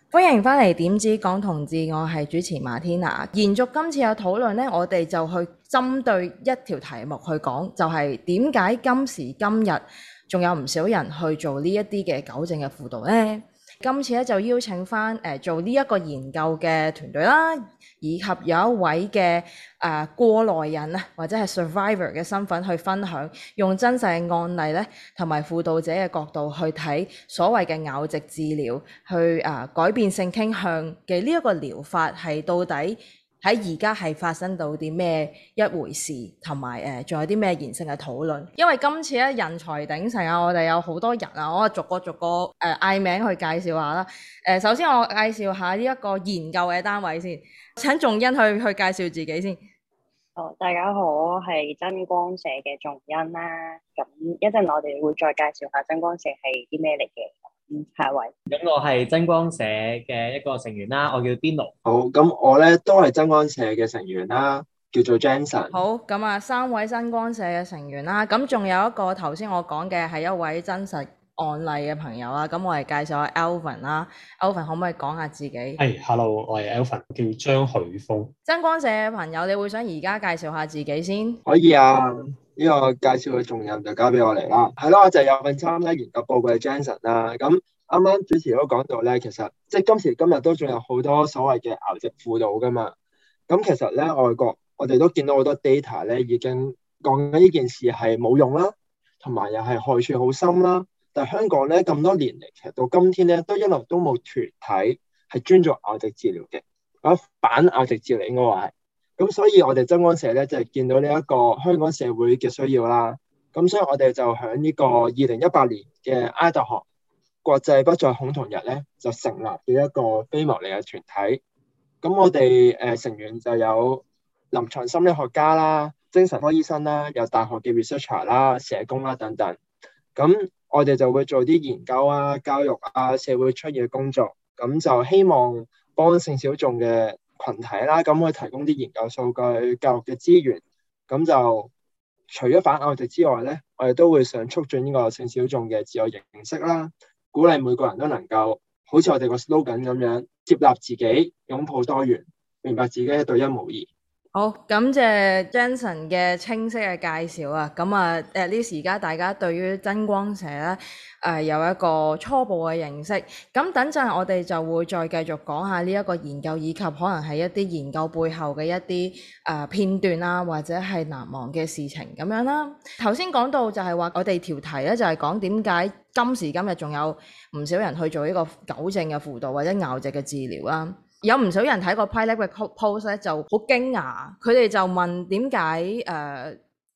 歡迎返嚟點知講同志，我係主持馬天娜。延續今次嘅討論呢，我哋就去針對一條題目去講，就係點解今時今日仲有唔少人去做呢一啲嘅糾正嘅輔導呢？今次咧就邀請返做呢一個研究嘅團隊啦，以及有一位嘅過來人啊，或者係 survivor 嘅身份去分享，用真實嘅案例咧，同埋輔導者嘅角度去睇所謂嘅拗直治療，去改變性傾向嘅呢一個療法係到底喺而家係發生到啲咩一回事，同埋仲有啲咩延伸嘅討論。因為今次咧人才鼎盛啊，我哋有好多人啊，我逐個嗌名去介紹下啦。首先我介紹下呢一個研究嘅單位先，請仲欣去介紹自己先。 大家好，我係真光社嘅仲欣啦。咁一陣我哋會再介紹下真光社係啲咩嚟嘅。下一位。 咁我係真光社嘅一個成員啦，我叫 Dino。 好，咁我咧都係真光社嘅成員啦，叫做 Jensen。 好，咁啊三位真光社嘅成員啦，咁仲有一個頭先我講嘅係一位真實案例嘅朋友啦，咁我嚟介紹下 Alvin 啦。Alvin 可唔可以講下自己？ 係，Hello，我係 Alvin，叫張許峰。 真光社嘅朋友，你會想而家介紹下自己先？ 可以啊，呢個介紹嘅重任就交俾我嚟啦。係咯，我就有份參加研究報告嘅 Jensen 啦。咁啱啱主持都講到咧，其實即係今時今日都仲有好多所謂嘅拗直輔導噶嘛。咁其實咧，外國我哋都見到好多 data 咧，已經講緊呢件事係冇用啦，同埋又係害處好深啦。但係香港咧咁多年嚟，其實到今天咧都一路都冇團體係專做拗直治療嘅，或者反拗直治療應該話係。咁所以我哋真光社咧就係見到呢一個香港社會嘅需要啦。咁所以我哋就喺呢個2018年嘅埃達學國際不再恐同日咧，就成立咗一個非牟利嘅團體。咁我哋成員就有臨床心理學家啦、精神科醫生啦、有大學嘅 researcher 啦、社工啦等等。咁我哋就會做啲研究啊、教育啊、社會出現嘅工作，咁就希望幫性小眾嘅群體啦，咁去提供啲研究數據、教育嘅資源。咁就除咗反拗直之外咧，我哋都會想促進呢個性小眾嘅自我認識啦，鼓勵每個人都能夠好似我哋個 slogan 咁樣，接納自己，擁抱多元，明白自己係獨一無二。 好，感謝 Jensen 嘅清晰嘅介紹啊！咁啊，at least而家大家對於真光社咧有一個初步嘅認識。咁等陣我哋就會再繼續講下呢一個研究，以及可能係一啲研究背後嘅一啲片段啊，或者係難忘嘅事情咁樣啦。頭先講到就係話我哋條題咧就係講點解今時今日仲有唔少人去做呢個糾正嘅輔導或者拗直嘅治療啦。有唔少人睇過 PrideLab 嘅 post 咧，就好驚訝，佢哋就問點解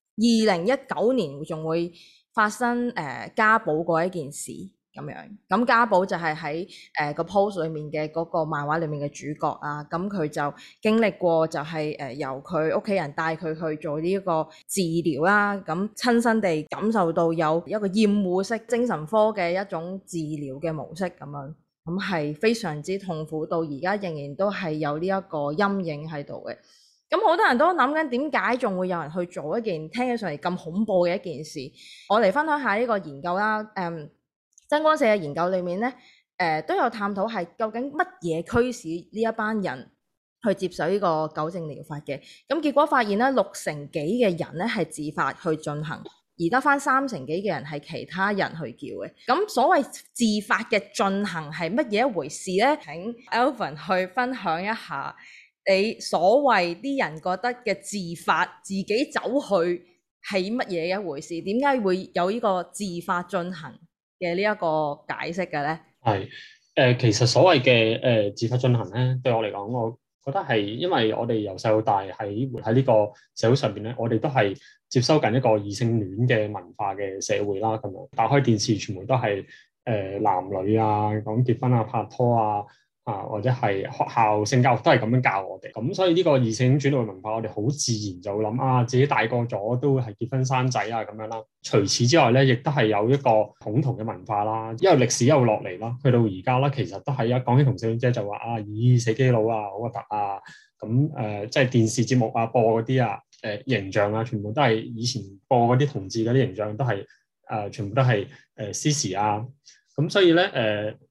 2019年仲會發生家寶嗰一件事咁樣。咁家寶就係喺個 post 裏面嘅嗰個漫畫裏面嘅主角啊，咁佢就經歷過就係由佢屋企人帶佢去做呢一個治療啦，咁親身地感受到有一個厭惡式精神科嘅一種治療嘅模式咁樣。咁係非常之痛苦，到而家仍然都係有呢一個陰影喺度嘅。咁好多人都諗緊點解仲會有人去做一件聽起上嚟咁恐怖嘅一件事。我嚟分享下呢個研究啦。真光社嘅研究裏面咧，都有探討係究竟乜嘢驅使呢一班人去接受呢個糾正療法嘅。咁結果發現咧，60%幾嘅人咧係自發去進行。而得返30%幾嘅人係其他人去叫嘅，咁所謂自發嘅進行係乜嘢一回事呢？請 Alvin 去分享一下你所謂啲人覺得嘅自發自己走去係乜嘢一回事？點解會有呢個自發進行嘅呢一個解釋嘅呢？ 係其實所謂嘅自發進行咧，對我嚟講，我覺得係因為我哋由細到大活喺呢個社會上邊咧，我哋都係接收緊一個異性戀嘅文化嘅社會啦。咁樣打開電視，全部都係男女啊，講結婚啊、拍拖啊，或者係學校性教育都係咁樣教我哋。咁所以呢個異性戀轉換文化，我哋好自然就會諗自己大個咗都會係結婚生仔啊咁樣啦。除此之外咧，亦都係有一個恐同嘅文化啦，因為歷史又落嚟啦，去到而家啦，其實都係一講起同性戀者就話咦死基佬啊，好核突啊！咁即係電視節目播嗰啲形象啊，全部都係以前播嗰啲同志嗰啲形象都係全部都係Sissy 啊。咁所以咧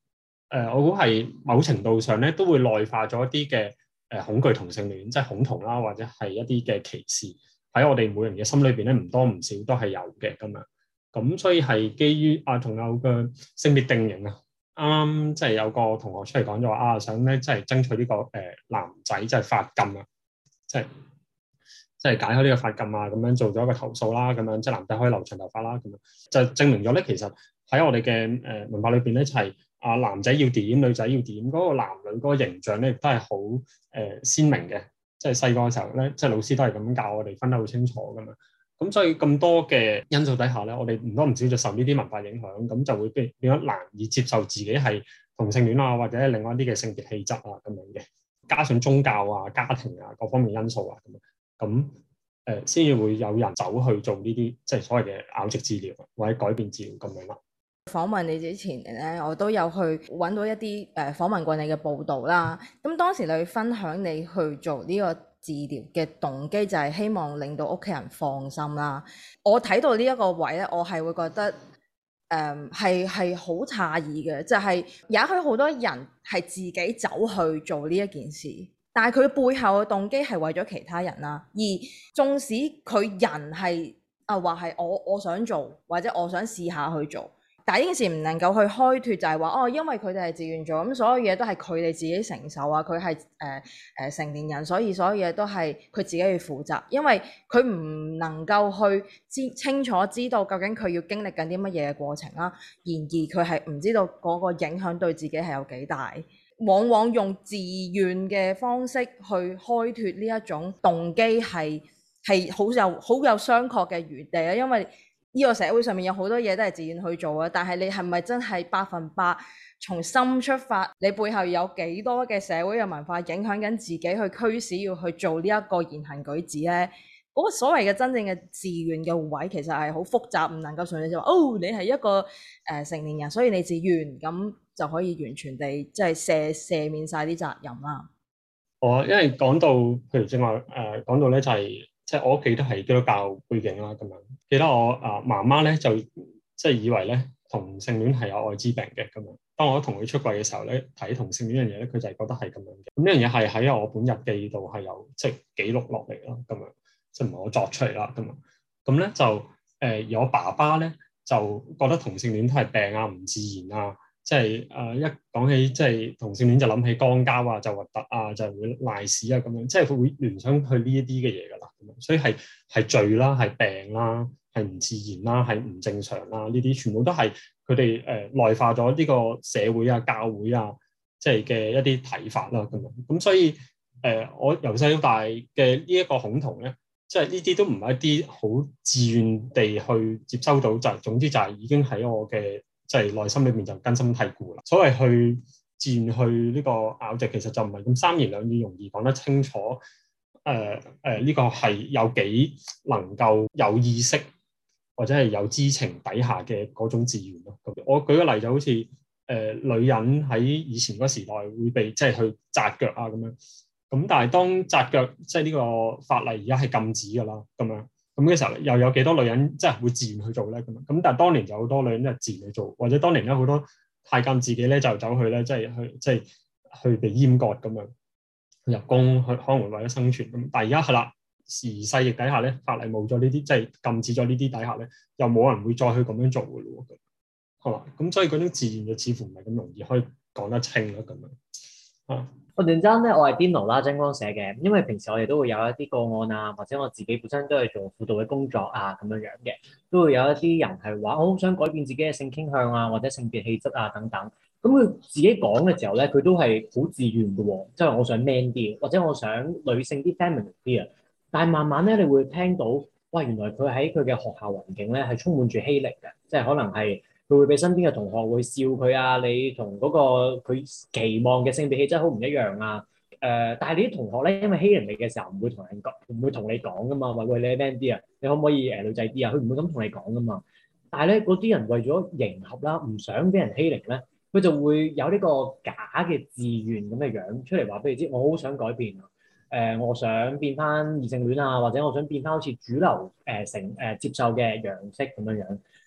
我估係某程度上咧都會內化咗一啲嘅恐懼同性戀，即係恐同啦，或者係一啲嘅歧視喺我哋每人嘅心裏邊咧，唔多唔少都係有嘅咁樣。咁所以係基於仲有嘅性別定型啊，啱啱即係有個同學出嚟講咗話想咧即係爭取呢個男仔即係髮禁啊，即係解開呢個髮禁啊，咁樣做咗一個投訴啦，咁樣即係男仔可以留長頭髮啦，咁樣就證明咗咧，其實喺我哋嘅文化裏邊咧，就係男仔要點，女仔要點，嗰個男女嗰個形象咧，亦都係好鮮明嘅。即係細個嘅時候咧，即係老師都係咁教我哋分得好清楚㗎嘛。咁所以咁多嘅因素底下咧，我哋唔多唔少就受呢啲文化影響，咁就會變咗難以接受自己係同性戀啊，或者另外一啲嘅性別氣質啊咁樣嘅。加上宗教啊、家庭啊各方面因素啊咁先至會有人走去做呢啲即係所謂嘅拗直治療或者改變治療咁樣啦。 訪問你之前咧，我都有去揾到一啲訪問過你嘅報道啦。咁當時你分享你去做呢個治療嘅動機，就係希望令到屋企人放心啦。我睇到呢一個位咧，我係會覺得係好詫異嘅，就係也許好多人係自己走去做呢一件事，但係佢背後嘅動機係為咗其他人啦。而縱使佢人係話係我想做，或者我想試下去做。但係呢件事唔能夠去開脫，就係話因為佢哋係自願做，咁所有嘢都係佢哋自己承受啊。佢係成年人，所以所有嘢都係佢自己去負責。因為佢唔能夠去清楚知道究竟佢要經歷緊啲乜嘢嘅過程啦。然而佢係唔知道嗰個影響對自己係有幾大。往往用自願嘅方式去開脫呢一種動機係好有商榷嘅餘地啊，因為呢個社會上面有好多嘢都係自願去做嘅，但係你係咪真係100%從心出發？你背後有幾多嘅社會嘅文化影響緊自己去驅使要去做呢一個言行舉止呢？嗰個所謂嘅真正嘅自願嘅位其實係好複雜，唔能夠純粹就話你係一個成年人，所以你自願咁就可以完全地即係赦免晒啲責任啦。 因為講到譬如正話講到咧就係。即係我屋企都係基督教背景啦，咁樣記得我媽媽咧就即係以為咧同性戀係有愛滋病嘅咁樣。當我同佢出櫃嘅時候咧，睇同性戀呢樣嘢咧，佢就係覺得係咁樣嘅。咁呢樣嘢係喺我本日記度係有即係記錄落嚟啦，咁樣即係唔係我作出嚟啦，咁樣咁咧就而我爸爸咧就覺得同性戀都係病啊，唔自然啊。即係一講起即係同性戀就諗起肛交啊，就核突啊，就會賴屎啊咁樣，即係會聯想去呢一啲嘅嘢㗎啦。咁樣所以係罪啦，係病啦，係唔自然啦，係唔正常啦。呢啲全部都係佢哋內化咗呢個社會啊、教會啊，即係嘅一啲睇法啦。咁樣咁所以我由細到大嘅呢一個恐同咧，即係呢啲都唔係一啲好自願地去接收到，就係總之就係已經喺我嘅。即係內心裏面就根深蒂固啦。所謂去自願去呢個拗直，其實就唔係咁三言兩語容易講得清楚。呢個係有幾能夠有意識或者係有知情底下嘅嗰種自願咯。我舉個例就好似女人喺以前嗰時代會被即係去紮腳啊咁樣。咁但係當紮腳即係呢個法例而家係禁止㗎啦咁樣。咁嘅時候又有幾多女人即係會自願去做咧？咁但係當年就好多女人都係自願去做，或者當年咧好多太監自己咧就走去咧即係去被閹割咁樣入宮去可能為咗生存咁。但係而家係啦，時勢亦底下咧，法例冇咗呢啲，即係禁止咗呢啲底下咧，又冇人會再去咁樣做㗎咯。係嘛？咁所以嗰種自願就似乎唔係咁容易可以講得清咯咁樣啊。 我陣間咧，我係邊爐啦，真光社嘅，因為平時我哋都會有一啲個案啊，或者我自己本身都係做輔導嘅工作啊，咁樣樣嘅，都會有一啲人係話我好想改變自己嘅性傾向啊，或者性別氣質啊等等。咁佢自己講嘅時候咧，佢都係好自願嘅喎，即係我想 man 啲，或者我想女性啲 feminine 啲啊。但係慢慢咧，你會聽到，哇，原來佢喺佢嘅學校環境咧係充滿住欺凌嘅，即係可能係。佢會俾身邊嘅同學會笑佢啊，你同嗰個佢期望嘅性別氣質好唔一樣啊。但係你啲同學咧，因為欺凌你嘅時候唔會同人講，唔會同你講噶嘛，話喂，你係 man 啲啊，你可唔可以女仔啲啊？佢唔會咁同你講噶嘛。但係咧，嗰啲人為咗迎合啦，唔想俾人欺凌咧，佢就會有呢個假嘅自願咁嘅樣出嚟話俾你知，我好想改變啊。我想變翻異性戀啊，或者我想變翻好似主流接受嘅樣式咁樣樣。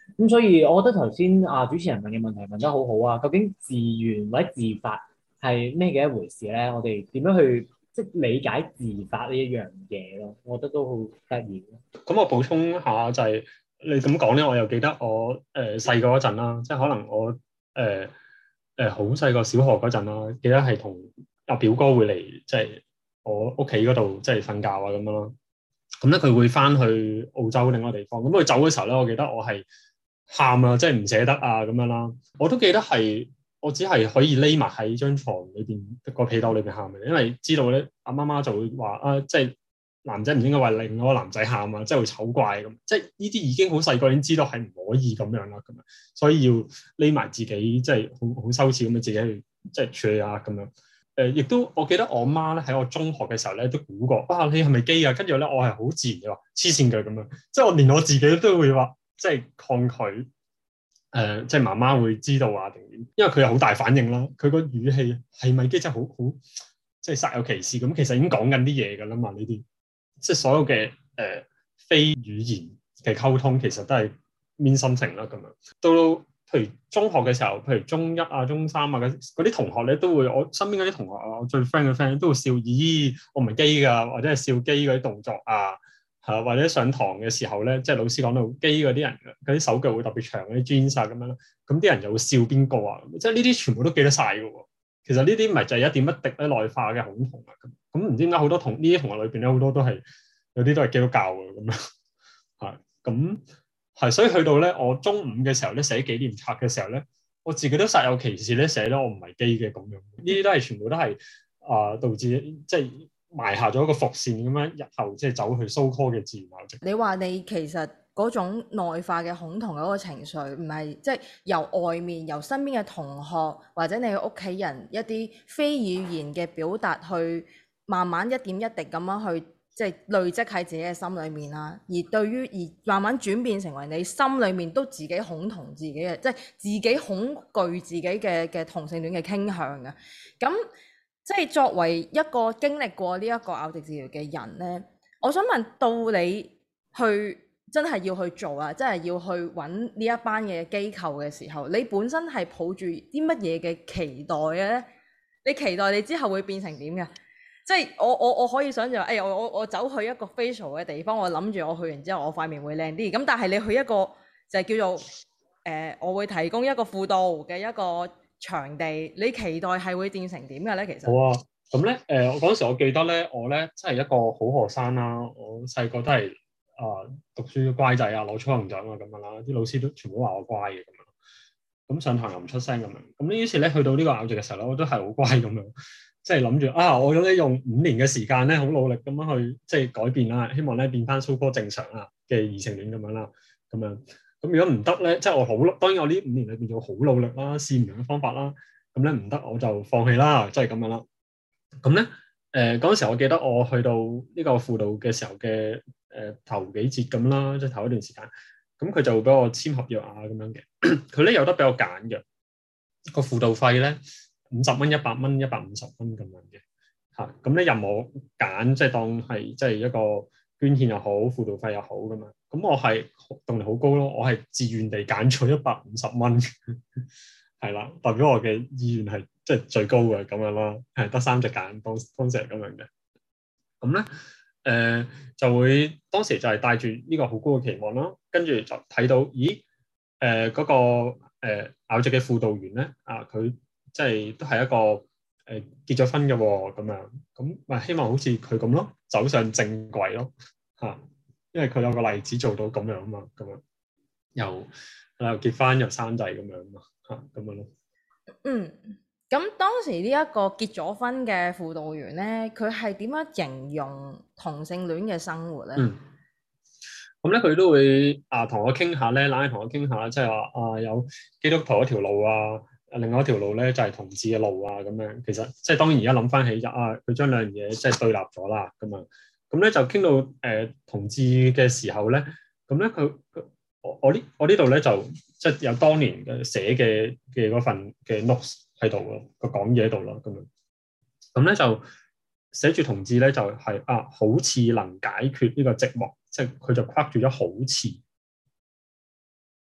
咁所以我覺得頭先主持人問嘅問題問得好好啊，究竟自願或者自發係咩嘅一回事咧？我哋點樣去即係理解自發呢一樣嘢咯？我覺得都好得意。 咁我補充下就係、你咁講咧，我又記得我細個嗰陣啦，即係可能我好細個小學嗰陣啦，記得係同阿表哥會嚟即係我屋企嗰度即係瞓覺啊咁樣咯。咁咧佢會翻去澳洲另一個地方，咁佢走嘅時候咧，我記得我係喊啊，即係唔捨得啊咁樣啦。我都記得係我只係可以匿埋喺張床裏邊個被竇裏邊喊嘅，因為知道咧阿媽媽就會話即係男仔唔應該為另外一個男仔喊啊，即係會醜怪咁。即係呢啲已經好細個已經知道係唔可以咁樣啦，咁樣所以要匿埋自己，即係好羞恥咁樣自己去即係處理啊咁樣。亦都我記得我媽咧喺我中學嘅時候咧都估過，你係咪基啊？跟住咧我係好自然嘅話黐線嘅咁樣，即係我連我自己都會話即係抗拒。即係媽媽會知道啊定點，因為佢有好大反應啦。佢個語氣係咪基真係好即係煞有其事咁，其實已經講緊啲嘢㗎啦嘛。呢啲即係所有嘅非語言嘅溝通，其實都係 mean something 啦咁樣。到譬如中學嘅時候，譬如中一啊、中三啊嗰啲同學咧，都會我身邊嗰啲同學啊，我最 friend 嘅 friend 都會笑，咦，我唔係基㗎，或者係笑基嗰啲動作啊。係或者上堂嘅時候咧，即係老師講到基嗰啲人嗰啲手腳會特別長嗰啲 jeans 啊咁樣啦，咁啲人就會笑邊個啊？即係呢啲全部都記得晒㗎喎。其實呢啲咪就係一點一滴咧內化嘅恐同啊咁唔知點解好多呢啲同學裏邊咧好多都係有啲都係基督教嘅咁樣係咁係，所以去到咧我中五嘅時候咧寫紀念冊嘅時候咧，我自己都煞有其事咧寫咗我唔係基嘅咁樣。呢啲都係全部都係導致即係。埋下咗一個伏線咁樣，日後即係走去 so-called 嘅自然校直。 你話你其實嗰種內化嘅恐同嗰個情緒，唔係即係由外面、由身邊嘅同學或者你嘅屋企人一啲非語言嘅表達，去慢慢一點一滴咁樣去即係累積喺自己嘅心裏面啦。而對於而慢慢轉變成為你心裏面都自己恐同自己嘅，即係自己恐懼自己嘅同性戀嘅傾向嘅。咁即係作為一個經歷過呢一個拗直治療嘅人呢，我想問到你去真係要去做啊，真係要去揾呢一班嘅機構嘅時候，你本身係抱住啲乜嘢嘅期待嘅呢？你期待你之後會變成點嘅？即係我可以想象，我走去一個 facial 嘅地方，我諗住我去完之後我塊面會靚啲。咁但係你去一個就係叫做我會提供一個輔導嘅一個場地，你期待係會變成點嘅咧？其實好啊，咁咧我嗰陣時我記得咧，我咧真係一個好學生啦。我細個都係讀書乖仔啊，攞初級獎啊咁樣啦，啲老師都全部都話我乖嘅咁樣。咁上堂又唔出聲咁樣。咁呢於是咧去到呢個拗直嘅時候咧，我都係好乖咁樣，即係諗住我咧用5年嘅時間咧，好努力咁樣去即係改變啦，希望咧變翻so-called正常啊嘅異性戀咁樣啦，咁樣。咁如果唔得咧，即係我好，當然我呢5年裏邊要好努力啦，試唔同嘅方法啦。咁咧唔得我就放棄啦，即係咁樣啦。咁咧嗰陣時我記得我去到呢個輔導嘅時候嘅頭幾節咁啦，即係頭一段時間，咁佢就會俾我簽合約啊咁樣嘅。佢咧有得俾我揀嘅，個輔導費咧50蚊、100蚊、150蚊咁樣嘅嚇。咁咧任我揀，即係當係即係一個捐獻又好，輔導費又好咁樣。咁我係動力好高咯，我係自願地揀咗150蚊，係啦，代表我嘅意願係即係最高嘅咁樣啦，係得3隻揀，當時係咁樣嘅。咁咧就會當時就係帶住呢個好高嘅期望啦，跟住就睇到咦嗰個拗直嘅輔導員咧佢即係都係一個結咗婚嘅喎，咁樣咁咪希望好似佢咁咯，走上正軌咯嚇。因為佢有個例子做到咁樣啊嘛，咁樣又結婚又生仔咁樣啊嘛，咁樣咯。 咁當時呢一個結咗婚嘅輔導員咧，佢係點樣形容同性戀嘅生活咧？ 咁咧佢都會同我傾下咧，同我傾下，即係話有基督徒一條路啊，另外一條路咧就係同志嘅路啊，咁樣其實即係當然而家諗翻起佢將兩樣嘢即係對立咗啦，咁樣。咁咧就傾到同志嘅時候咧，咁咧我呢度咧就即係有當年嘅寫嘅嗰份嘅 notes 喺度咯，個講嘢喺度咯，咁樣。咁咧就寫住同志咧就係好似能解決呢個寂寞，即係佢就框住咗好似。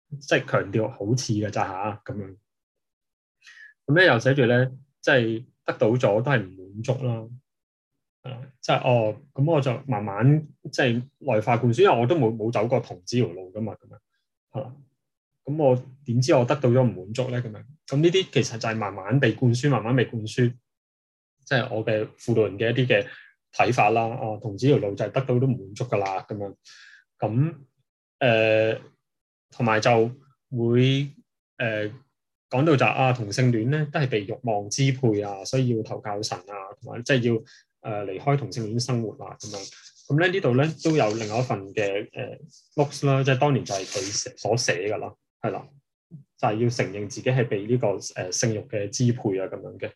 即係強調好似嘅咋嚇咁樣。咁咧又寫住咧，即係得到咗都係唔滿足啦。即係咁我就慢慢即係內化灌輸，因為我都冇走過同志條路噶嘛，咁樣係啦。咁我點知我得到咗唔滿足咧？咁樣咁呢啲其實就係慢慢被灌輸，慢慢被灌輸，即係我嘅輔導人嘅一啲嘅睇法啦。同志條路就係得到都唔滿足噶啦，咁樣咁同埋就會講到就同性戀咧都係被慾望支配啊，所以要投靠神啊，同埋即係要離開同性戀生活啊咁樣。咁咧呢度咧都有另外一份嘅notes 啦，即係當年就係佢所寫噶啦，係啦，就係要承認自己係被呢個性慾嘅支配啊咁樣嘅。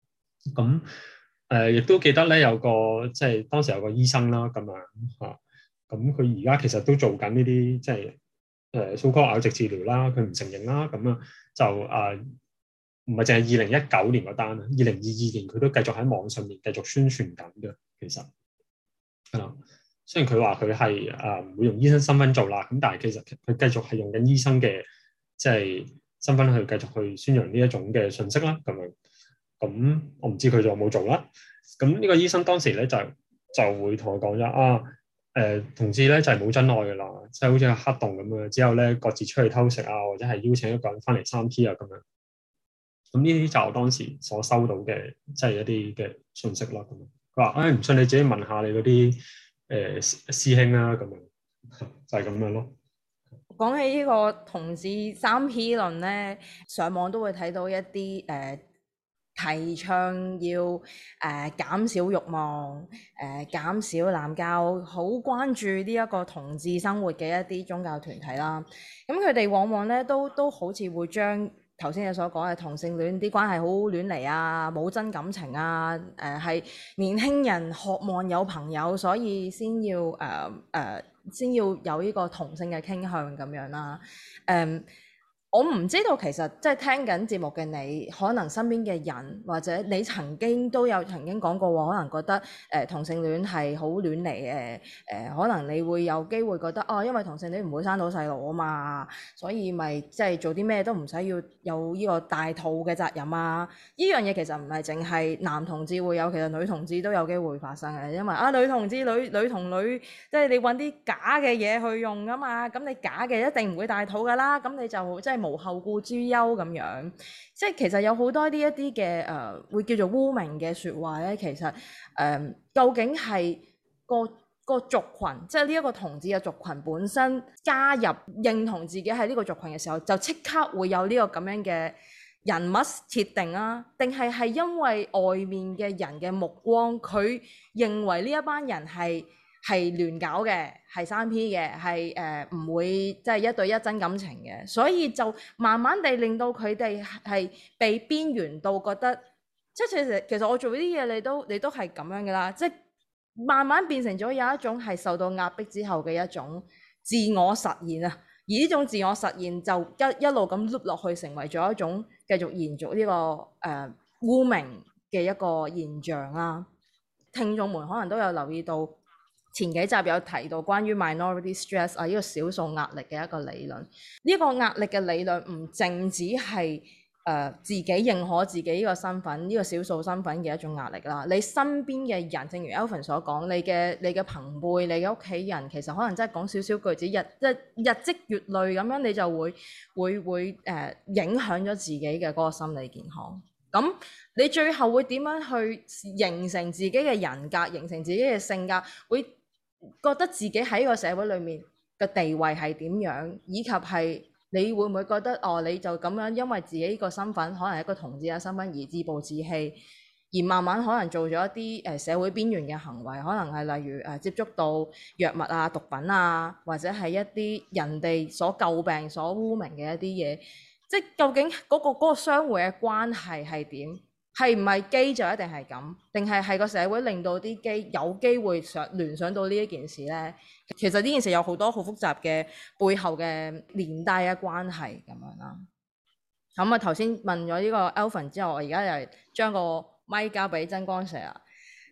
咁亦都記得咧有個即係當時有個醫生啦咁樣嚇，咁佢而家其實都做緊呢啲即係so-called拗直治療啦，佢唔承認啦，咁樣就唔係淨係2019年嗰單啊，2022年佢都繼續喺網上面繼續宣傳緊嘅，其實係啦。雖然佢話佢係唔會用醫生身份做啦，咁但係其實佢繼續係用緊醫生嘅即係身份去繼續去宣揚呢一種嘅信息啦，咁樣。咁我唔知佢仲有冇做啦。咁呢個醫生當時咧就會同我講咗同志咧就係冇真愛噶啦，即係好似個黑洞咁樣，之後咧各自出去偷食啊，或者係邀請一個人翻嚟3P 啊咁樣。咁呢啲就我當時所收到嘅即係一啲嘅信息啦。咁佢話唔信你自己問下你嗰啲師兄啦，咁樣就係咁樣咯。 講起呢個同志3P 論咧，上網都會睇到一啲提倡要減少慾望、減少濫交，好關注呢一個同志生活嘅一啲宗教團體啦。咁佢哋往往咧都好似會將頭先你所講嘅同性戀啲關係好亂嚟啊，冇真感情啊，係年輕人渴望有朋友，所以先要先要有呢個同性嘅傾向咁樣啦。我唔知道其實即係聽緊節目嘅你，可能身邊嘅人或者你曾經講過話，可能覺得同性戀係好亂嚟嘅，可能你會有機會覺得因為同性戀唔會生到細路啊嘛，所以咪即係做啲咩都唔使要有呢個大肚嘅責任啊。呢樣嘢其實唔係淨係男同志會有，其實女同志都有機會發生嘅，因為女同志女同女即係你揾啲假嘅嘢去用啊嘛，咁你假嘅一定唔會大肚噶啦，咁你就即係無後顧之憂咁樣，即係其實有好多呢一啲嘅會叫做污名嘅説話咧，其實究竟係個族群，即係呢一個同志嘅族群本身加入認同自己係呢個族群嘅時候，就即刻會有呢個咁樣嘅人物設定啊？定係因為外面嘅人嘅目光，佢認為呢一班人係亂搞嘅，係3P 嘅，係唔會即係1對1真感情嘅，所以就慢慢地令到佢哋係被邊緣到覺得，即係其實我做呢啲嘢你都係咁樣嘅啦，即係慢慢變成咗有一種係受到壓迫之後嘅一種自我實現啊，而呢種自我實現就一路咁碌落去，成為咗一種繼續延續呢個污名嘅一個現象啦。聽眾們可能都有留意到，前幾集有提到關於 minority stress 呢個少數壓力嘅一個理論。呢個壓力嘅理論唔淨止係自己認可自己呢個身份，呢個少數身份嘅一種壓力啦。你身邊嘅人，正如 Alvin 所講，你嘅朋輩、你嘅屋企人，其實可能真係講少少句子，日積月累咁樣，你就會影響咗自己嘅嗰個心理健康。咁你最後會點樣去形成自己嘅人格，形成自己嘅性格，會覺得自己喺個社會裏面嘅地位係點樣，以及係你會唔會覺得你就咁樣因為自己個身份可能係一個同志嘅身份而自暴自棄，而慢慢可能做咗一啲社會邊緣嘅行為，可能係例如接觸到藥物啊、毒品啊，或者係一啲人哋所詬病、所污名嘅一啲嘢，即係究竟嗰個相互嘅關係係點？係唔係基就一定係咁？定係個社會令到啲基有機會聯想到呢一件事呢？其實呢件事有好多好複雜嘅背後嘅連帶嘅關係咁樣啦。咁頭先問咗呢個 Alvin 之後，我而家又將個咪交俾真光社啦。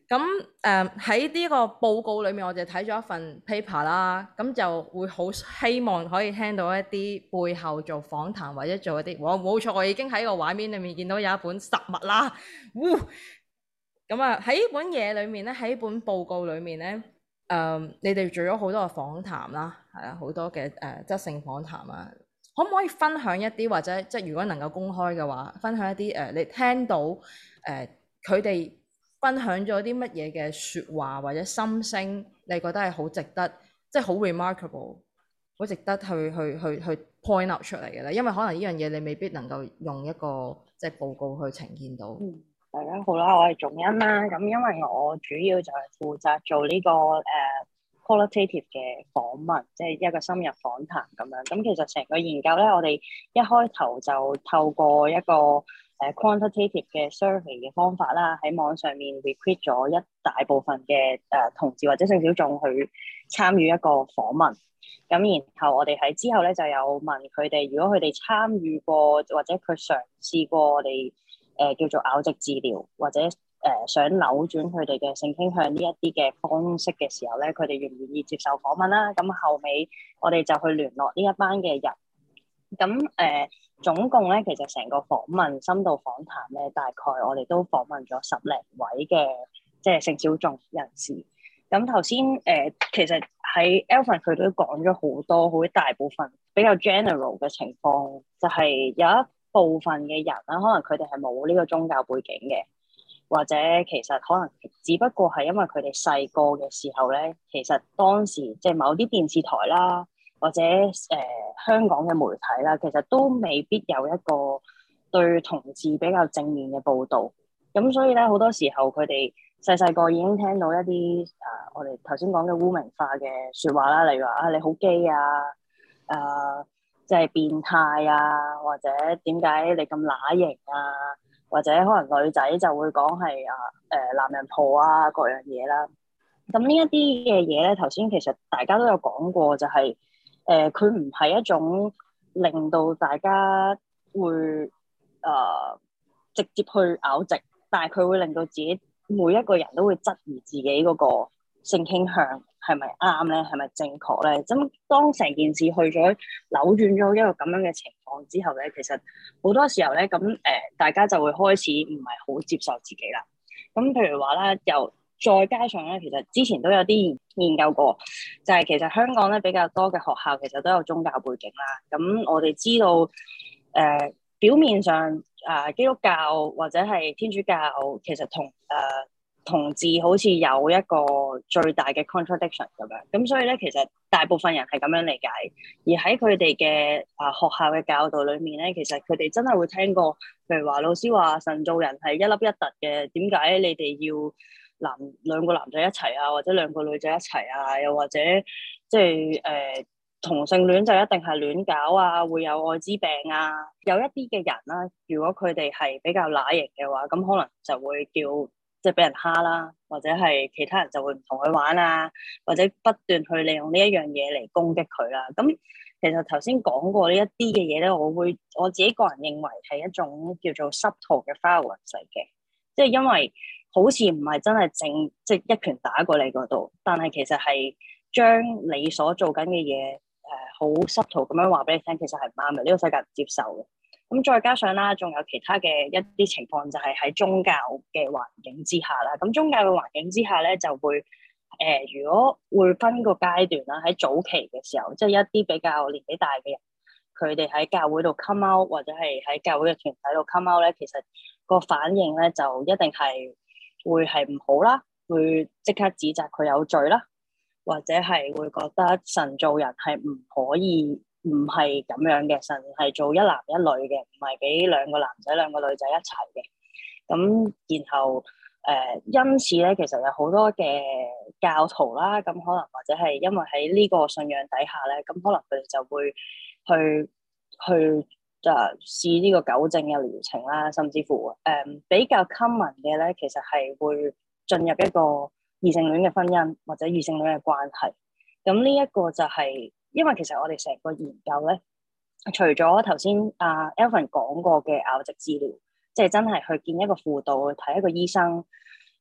咁喺呢個報告裏面，我哋睇咗一份 paper 啦，咁就會好希望可以聽到一啲背後做訪談或者做一啲，冇錯，我已經喺個畫面裏面見到有一本實物啦，咁啊喺呢本嘢裏面咧，喺呢本報告裏面咧，你哋做咗好多嘅訪談啦，係啊，好多嘅質性訪談啊，可唔可以分享一啲或者即係如果能夠公開嘅話，分享一啲你聽到佢哋分享咗啲乜嘢嘅説話或者心聲，你覺得係好值得，即係好 remarkable， 好值得去 point out 出嚟嘅咧？因為可能呢樣嘢你未必能夠用一個即係報告去呈現到。 大家好啦，我係仲恩啦。咁因為我主要就係負責做呢個qualitative 嘅訪問，即係一個深入訪談咁樣。咁其實成個研究咧，我哋一開頭就透過一個quantitative 嘅 survey 嘅方法啦，喺網上面 recruit 咗一大部分嘅同志或者性小眾去參與一個訪問。咁然後我哋喺之後咧就有問佢哋，如果佢哋參與過或者佢嘗試過我哋叫做拗直治療，或者想扭轉佢哋嘅性傾向呢一啲嘅方式嘅時候咧，佢哋願唔願意接受訪問啦？咁後尾我哋就去聯絡呢一班嘅人。咁總共咧，其實成個訪問深度訪談咧，大概我哋都訪問咗10零位嘅即係性小眾人士。咁頭先其實喺 Alvin 佢都講咗好多好大部分比較 general 嘅情況，就係有一部分嘅人啦，可能佢哋係冇呢個宗教背景嘅，或者其實可能只不過係因為佢哋細個嘅時候咧，其實當時即係某啲電視台啦，或者香港嘅媒體啦，其實都未必有一個對同志比較正面嘅報導。咁所以咧，好多時候佢哋細個已經聽到一啲我哋頭先講嘅污名化嘅説話啦，例如話你好基啊，即係變態啊，或者點解你咁乸型啊，或者可能女仔就會講係男人婆啊各樣嘢啦。咁呢一啲嘅嘢咧，頭先其實大家都有講過，就係佢唔係一種令到大家會直接去拗直，但係佢會令到自己每一個人都會質疑自己嗰個性傾向係咪啱咧，係咪正確咧？咁當成件事去咗扭轉咗一個咁樣嘅情況之後咧，其實好多時候咧，咁大家就會開始唔係好接受自己啦。咁譬如話啦，又再加上咧，其實之前都有啲研究過，就係其實香港咧比較多嘅學校其實都有宗教背景啦。咁我哋知道表面上基督教或者係天主教其實同志好似有一個最大嘅 contradiction 咁樣，咁所以咧，其實大部分人係咁樣理解，而喺佢哋嘅學校嘅教導裏面咧，其實佢哋真係會聽過，譬如話老師話神造人係一粒一突嘅，點解你哋要兩個男仔一齊啊，或者兩個女仔一齊啊，又或者即係同性戀就一定係亂搞啊，會有愛滋病啊，有一啲嘅人啦，如果佢哋係比較乸型嘅話，咁可能就會叫。即係俾人蝦啦，或者係其他人就會唔同佢玩啊，或者不斷去利用呢一樣嘢嚟攻擊佢啦。咁其實頭先講過呢一啲嘅嘢咧，我自己個人認為係一種叫做 subtle 嘅 violence 嚟嘅，即係因為好似唔係真係即係一拳打過你嗰度，但係其實係將你所做緊嘅嘢好 subtle 咁樣話俾你聽，其實係唔啱嘅，呢個世界唔接受嘅。咁再加上啦，仲有其他嘅一啲情況，就係喺宗教嘅環境之下啦。咁宗教嘅環境之下咧，就會如果會分個階段啦，喺早期嘅時候，即係一啲比較年紀大嘅人，佢哋喺教會度 come out，或者係喺教會嘅團體度 come out咧，其實個反應咧就一定係會係唔好啦，會即刻指責佢有罪啦，或者係會覺得神造人係唔可以。唔係咁樣嘅，神係做一男一女嘅，唔係俾兩個男仔兩個女仔一齊嘅。咁然後因此咧，其實有好多嘅教徒啦，咁可能或者係因為喺呢個信仰底下咧，咁可能佢哋就會去試呢個糾正嘅療程啦，甚至乎比較 common 嘅咧，其實係會進入一個異性戀嘅婚姻或者異性戀嘅關係。咁呢一個就係。因為其實我哋成個研究咧，除咗頭先Alvin 講過嘅拗直治療，即係真係去見一個輔導，去睇一個醫生，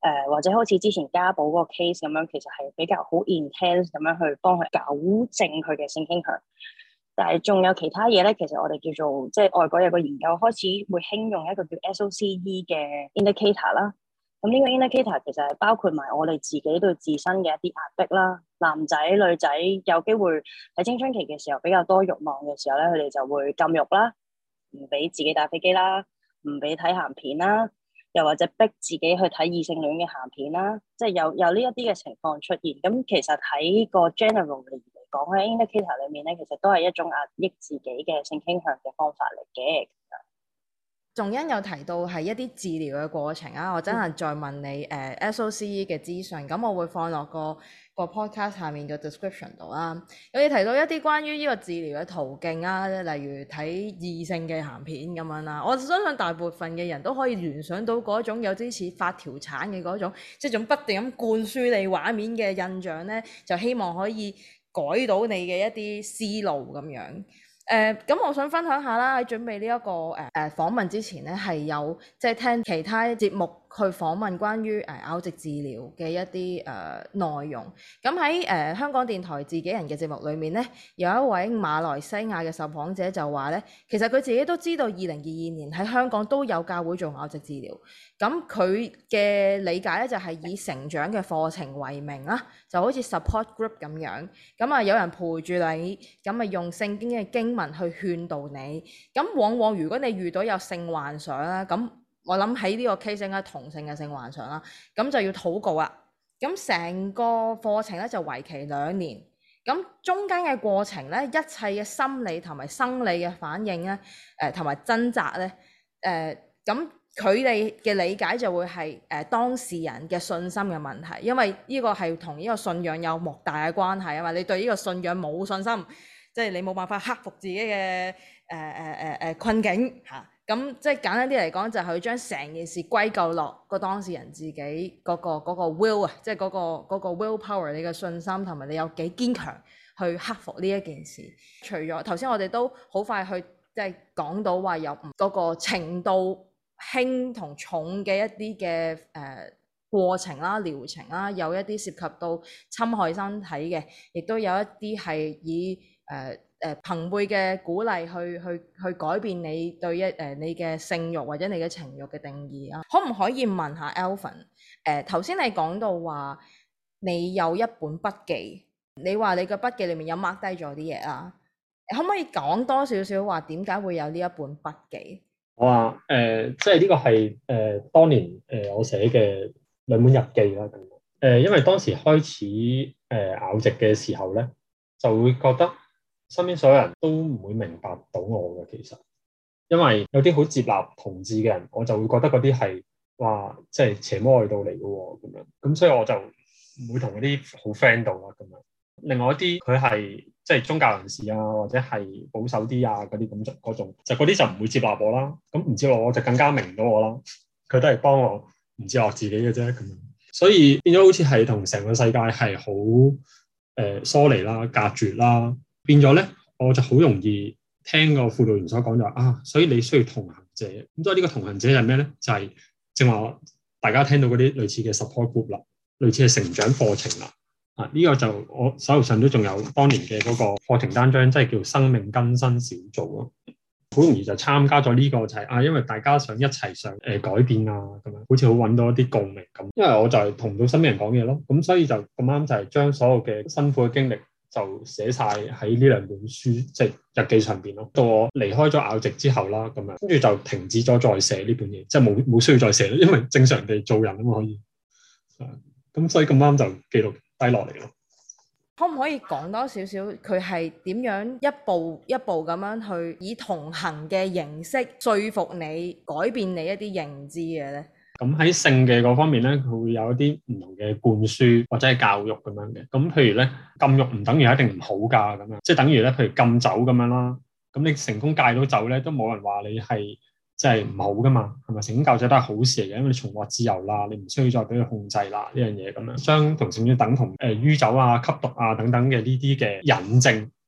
或者好似之前家寶嗰個 case 咁樣，其實係比較好 intense 咁樣去幫佢糾正佢嘅性傾向。但係仲有其他嘢咧，其實我哋叫做即係外國有個研究開始會興用一個叫 SOCE 嘅 indicator 啦。咁呢個 indicator 其實係包括埋我哋自己對自身嘅一啲壓迫啦。男仔女仔有機會喺青春期嘅時候比較多慾望嘅時候咧，佢哋就會禁欲啦，唔俾自己打飛機啦，唔俾睇鹹片啦，又或者逼自己去睇異性戀嘅鹹片啦，即係有呢一啲嘅情況出現。咁其實喺個 general 嚟講喺 indicator 裏面咧，其實都係一種壓抑自己嘅性傾向嘅方法嚟嘅。 仲欣有提到係一啲治療嘅過程啊，我真係再問你SOCE 嘅資訊，咁我會放落個 podcast 下面嘅 description 度啦。有你提到一啲關於呢個治療嘅途徑啊，例如睇異性嘅鹹片咁樣啦。我相信大部分嘅人都可以聯想到嗰種有啲似發條橙嘅嗰種，即係種不斷咁灌輸你畫面嘅印象咧，就希望可以改到你嘅一啲思路咁樣。咁我想分享下啦，喺準備呢一個訪問之前咧，係有即係聽其他節目去訪問關於拗直治療嘅一啲內容。咁喺香港電台自己人嘅節目裏面咧，有一位馬來西亞嘅受訪者就話咧，其實佢自己都知道2022年喺香港都有教會做拗直治療。咁佢嘅理解咧就係以成長嘅課程為名啦，就好似 support group 咁樣。咁啊有人陪住你，咁啊用聖經嘅經文去勸導你。咁往往如果你遇到有性幻想啦，咁我諗喺呢個 case 應該同性嘅性幻想啦，咁就要禱告啦。咁成個課程咧就為期2年。咁中間嘅過程咧，一切嘅心理同埋生理嘅反應咧，同埋掙扎咧，咁佢哋嘅理解就會係當事人嘅信心嘅問題，因為呢個係同呢個信仰有莫大嘅關係啊嘛。你對呢個信仰冇信心，即係你冇辦法克服自己嘅困境嚇。咁即係簡單啲嚟講，就係佢將成件事歸咎落個當事人自己嗰個 will 啊，即係嗰個 will power， 你嘅信心同埋你有幾堅強去克服呢一件事。除咗頭先我哋都好快去即係講到話有嗰個程度輕同重嘅一啲嘅過程啦、療程啦，有一啲涉及到侵害身體嘅，亦都有一啲係以朋輩嘅鼓勵去改變你對你嘅性慾或者你嘅情慾嘅定義啊。可唔可以問下 Alvin？頭先你講到話你有一本筆記，你話你嘅筆記裡面有 mark 低咗啲嘢啦，可唔可以講多少少話點解會有呢一本筆記？ 我話即係呢個係當年我寫嘅2本日記啦。因為當時開始拗直嘅時候咧，就會覺得身邊所有人都唔會明白到我嘅。其實因為有啲好接納同志嘅人，我就會覺得嗰啲係話即係邪魔外道嚟嘅喎咁樣。咁所以我就唔會同嗰啲好 friend 到啦咁樣。另外一啲佢係即係宗教人士啊，或者係保守啲啊嗰啲咁嗰種，就嗰啲就唔會接納我啦。咁唔接納我就更加明唔到我啦。佢都係幫我唔接納自己嘅啫咁樣。所以變咗好似係同成個世界係好疏離啦、隔絕啦。變咗咧，我就好容易聽個輔導員所講就話所以你需要同行者。咁所以呢個同行者係咩咧？就係正話大家聽到嗰啲類似嘅 support group 啦，類似嘅成長課程啦。呢個就我手頭上都仲有當年嘅嗰個課程單張，即係叫生命更新小組咯。好容易就參加咗呢個就係因為大家想一齊上改變啊咁樣，好似好揾到一啲共鳴咁。因為我就係同唔到身邊人講嘢咯，咁所以就咁啱就係將所有嘅辛苦嘅經歷就寫晒喺呢2本書即係日記上邊咯。到我離開咗拗直之後啦，咁樣跟住就停止咗再寫呢本嘢，即係冇需要再寫啦，因為正常地做人可以。咁所以咁啱就記錄低落嚟咯。 可唔可以講多少少佢係點樣一步一步咁樣去以同行嘅形式說服你改變你一啲認知嘅咧？ 咁喺性嘅嗰方面咧，佢會有一啲唔同嘅灌輸或者係教育咁樣嘅。咁譬如咧，禁欲唔等於一定唔好㗎咁樣，即係等於咧，譬如禁酒咁樣啦。咁你成功戒到酒咧，都冇人話你係即係唔好㗎嘛，係咪？成功戒酒都係好事嚟嘅，因為你重獲自由啦，你唔需要再俾佢控制啦呢樣嘢咁樣。將同性戀等同酗酒啊、吸毒啊等等嘅呢啲嘅引證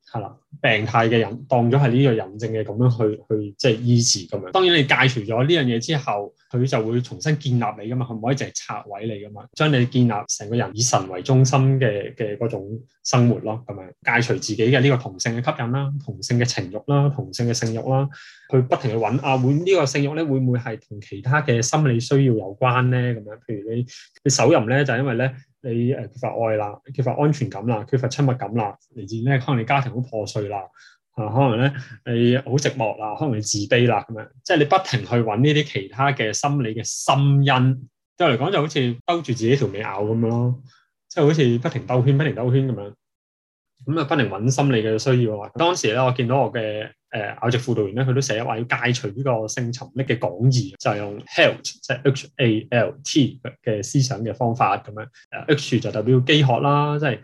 係啦，病態嘅人當咗係呢個人症嘅咁樣去即係醫治咁樣。當然你戒除咗呢樣嘢之後，佢就會重新建立你噶嘛，佢唔可以淨係拆毀你噶嘛，將你建立成個人以神為中心嘅嗰種生活咯，咁樣戒除自己嘅呢個同性嘅吸引啦、同性嘅情慾啦、同性嘅性慾啦，去不停去揾會呢個性慾咧會唔會係同其他嘅心理需要有關咧？咁樣，譬如你手淫咧就係因為咧。你缺乏愛啦，缺乏安全感啦，缺乏親密感啦，嚟自咧可能你家庭好破碎啦，可能咧你好寂寞啦，可能你自卑啦咁樣，即係你不停去揾呢啲其他嘅心理嘅心因，對我嚟講就好似兜住自己條尾咬咁樣咯，即係好似不停兜圈咁樣，咁啊不停揾心理嘅需要啊。當時咧我見到我嘅拗直輔導員咧，佢都寫話要戒除呢個性沉溺嘅講義，就係用 HALT 即係 HALT 嘅思想嘅方法咁樣。H 就代表飢渴啦，即係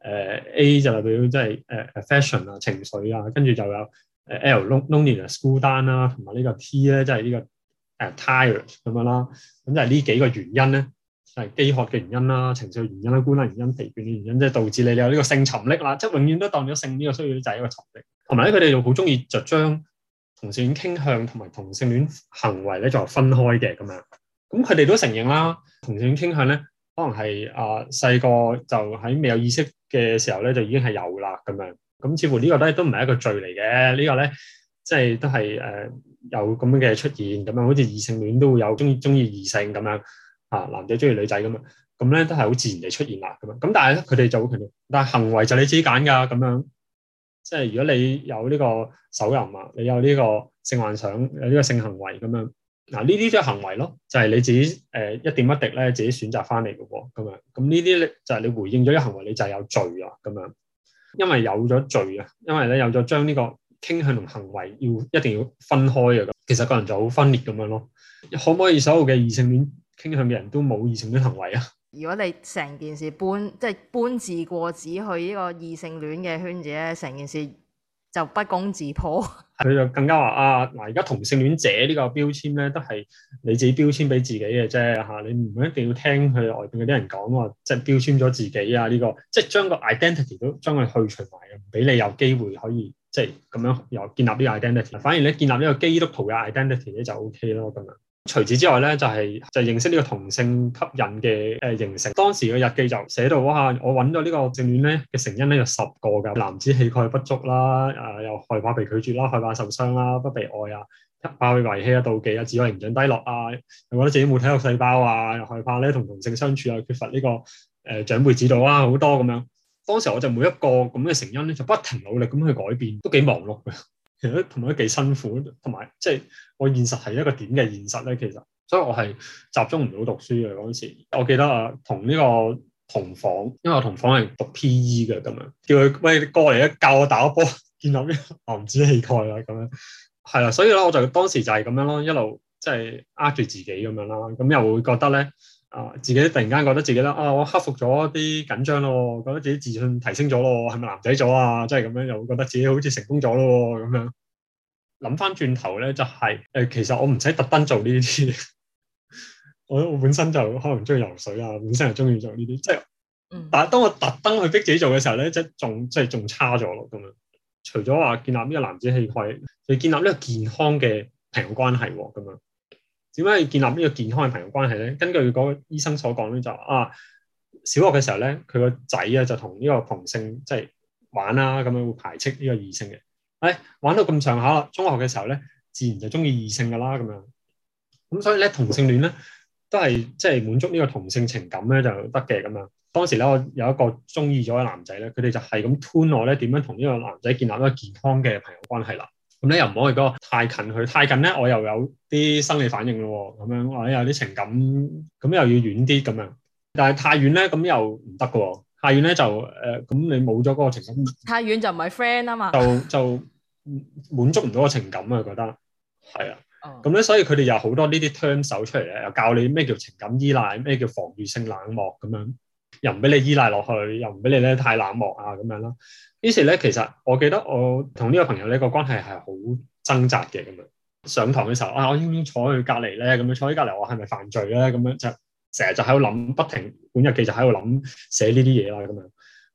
A 就代表即係affection 啊情緒啊，跟住就有L loneliness 孤單啦，同埋呢個 T 咧即係呢個tired 咁樣啦。咁就係呢幾個原因咧，就係飢渴嘅原因啦、情緒原因啦、孤單原因、疲倦嘅原因，即係導致你有呢個性沉溺啦，即係永遠都當咗性呢個需要就係一個沉溺。同埋咧，佢哋又好中意就將同性戀傾向同埋同性戀行為咧就分開嘅咁樣。咁佢哋都承認啦，同性戀傾向咧可能係細個就喺未有意識嘅時候咧就已經係有啦咁樣。咁似乎呢個都唔係一個罪嚟嘅，呢個咧即係都係有咁樣嘅出現咁樣，好似異性戀都會有中意異性咁樣男仔中意女仔咁樣，咁咧都係好自然地出現啦咁樣。咁但係咧佢哋就會強調，但係行為就你自己揀㗎咁樣。即係如果你有呢個手淫啊，你有呢個性幻想，有呢個性行為咁樣，呢啲都係行為咯，就係你自己一點一滴咧自己選擇翻嚟嘅喎，咁樣咁呢啲咧就係你回應咗啲行為，你就係有罪啊咁樣，因為有咗罪啊，因為咧有咗將呢個傾向同行為一定要分開啊，其實個人就好分裂咁樣咯。可唔可以所有嘅異性戀傾向嘅人都冇異性戀行為啊？ 如果你成件事搬字過紙去呢個異性戀嘅圈子咧，成件事就不攻自破。佢就更加話而家同性戀者呢個標籤咧，都係你自己標籤俾自己嘅啫嚇，你唔一定要聽佢外邊嗰啲人講話，即係標籤咗自己啊呢個，即係將個 identity 都將佢去除埋，唔俾你有機會可以即係咁樣又建立呢個 identity。反而咧建立呢個基督徒嘅 identity 咧就 OK 咯咁樣。除此之外咧，就認識呢個同性吸引嘅形成。當時嘅日記就寫到哇，我揾咗呢個性戀咧嘅成因咧有10個㗎，男子氣概不足啦，又害怕被拒絕啦，害怕受傷啦，不被愛啊，怕被遺棄啊，妒忌啊，自我形象低落啊，又覺得自己冇體育細胞啊，又害怕咧同性相處啊，缺乏呢個長輩指導啊，好多咁樣。當時我就每一個咁嘅成因咧，就不停努力咁去改變，都幾忙碌嘅。其實同埋都幾辛苦，同埋即係我現實係一個點嘅現實咧。其實，所以我係集中唔到讀書嘅嗰陣時。我記得同呢個同房，因為我同房係讀 PE 嘅咁樣，叫佢喂過嚟教我打波，建立呢個男子氣概啦咁樣。係啦，所以咧我就當時就係咁樣咯，一路即係呃住自己咁樣啦。咁又會覺得咧自己突然間覺得自己咧我克服咗啲緊張咯，覺得自己自信提升咗咯，係咪男仔咗啊？即係咁樣又會覺得自己好似成功咗咯咁樣。諗翻轉頭咧，就係其實我唔使特登做呢啲，我本身就可能中意游水啊，本身係中意做呢啲，即係，但係當我特登去逼自己做嘅時候咧，即係仲差咗咯咁樣。除咗話建立呢個男子氣概，就建立呢個健康嘅朋友關係喎咁樣。點解要建立呢個健康嘅朋友關係咧？根據嗰個醫生所講咧，就小學嘅時候咧，佢個仔啊就同呢個同性即係玩啦，咁樣會排斥呢個異性嘅。玩到咁上下啦，中學嘅時候咧，自然就中意異性噶啦咁樣。咁所以咧，同性戀咧都係即係滿足呢個同性情感咧就得嘅咁樣。當時咧，我有一個中意咗嘅男仔咧，佢哋就係咁 tune 我咧點樣同呢個男仔建立一個健康嘅朋友關係啦。咁咧又唔可以嗰個太近佢，太近咧我又有啲生理反應咯，咁樣或者有啲情感，咁又要遠啲咁樣。但係太遠咧，咁又唔得噶喎。太遠咧就咁你冇咗嗰個情感。 太遠就唔係 friend 啊嘛。 就滿足唔到個情感啊，覺得係啊。咁咧，所以佢哋有好多呢啲 term 手出嚟咧，又教你咩叫情感依賴，咩叫防禦性冷漠咁樣，又唔俾你依賴落去，又唔俾你咧太冷漠啊咁樣啦。於是咧，其實我記得我同呢個朋友呢個關係係好掙扎嘅咁樣。上堂嘅時候我應唔應坐佢隔離咧？咁樣坐喺隔離，我係咪犯罪咧？咁樣就成日就喺度諗，不停本日記就喺度諗寫呢啲嘢啦咁樣。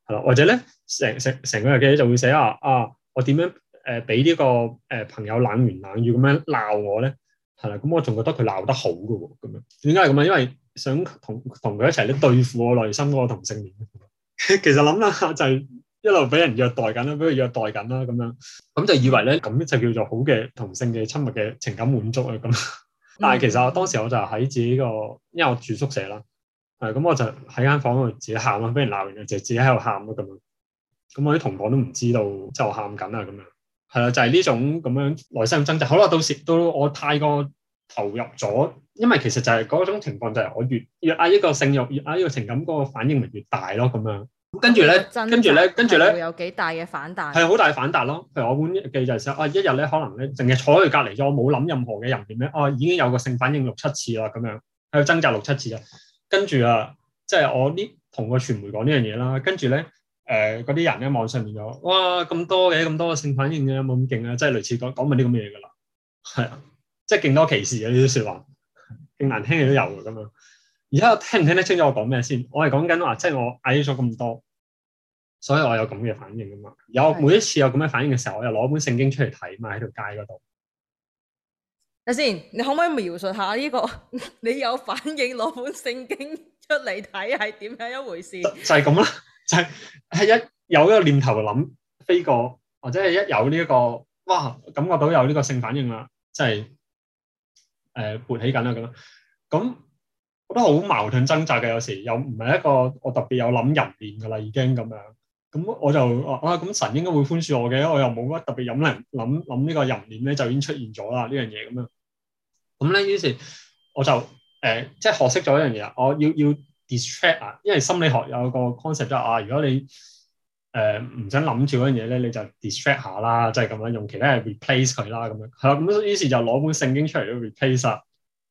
係啦，或者咧成個日記就會寫我點樣俾呢個朋友冷言冷語咁樣鬧我咧，係啦，咁我仲覺得佢鬧得好嘅喎，咁樣點解係咁啊？因為想同佢一齊咧對付我內心嗰個同性戀。其實諗下就係一路俾人虐待緊啦，俾佢虐待緊啦，咁就以為咧咁就叫做好嘅同性嘅親密嘅情感滿足啊咁。但係其實當時我就喺自己因為我住宿舍啦，咁我就喺間房度自己喊啦，俾人鬧完就自己喺度喊咯咁樣。咁我啲同房都唔知道，即係我喊緊啊咁樣。係啦，就係呢種咁樣內心掙扎。好啦，到我太過投入咗，因為其實就係嗰種情況，就係我越壓抑個性慾，越壓抑個情感，嗰個反應咪越大咯咁樣。跟住咧， 會有幾大嘅反彈？ 係好大反彈咯。譬如我本日記就係寫，一日咧可能咧淨係坐喺佢隔離咗，我冇諗任何嘅淫念咧，已經有個性反應6-7次啦咁樣，喺度掙扎6-7次啦。跟住即係我同個傳媒講呢樣嘢啦，跟住咧嗰啲人咧網上面就哇咁多嘅性反應嘅，有冇咁勁啊？即係類似講埋啲咁嘅嘢㗎啦，係啊，即係勁多歧視嘅呢啲説話，勁難聽嘅都有㗎咁樣。而家聽唔聽得清楚我講咩先？我係講緊話，即係我矮咗咁多，所以我有咁嘅反應㗎嘛。每一次有咁嘅反應嘅時候，我又攞本聖經出嚟睇嘛，喺條街嗰度。 睇先，你可唔可以描述下呢個你有反應攞本聖經出嚟睇係點樣一回事？就係咁啦，係一有一個念頭諗飛過，或者係一有呢一個哇感覺到有呢個性反應啦，即係勃起緊啦咁。覺得好矛盾掙扎嘅，有時又唔係一個我特別有諗淫念㗎啦，已經咁樣。咁我就咁神應該會寬恕我嘅，我又冇乜特別諗呢個淫念咧，就已經出現咗啦呢樣嘢咁樣。咁咧，於是我就即係學識咗一樣嘢，我要 distract 啊，因為心理學有個 concept 就係如果你唔想諗住嗰樣嘢咧，你就 distract 下啦，即係咁樣用其他嘢 replace 佢啦咁樣。係啦，咁於是就攞本聖經出嚟去 replace 啦。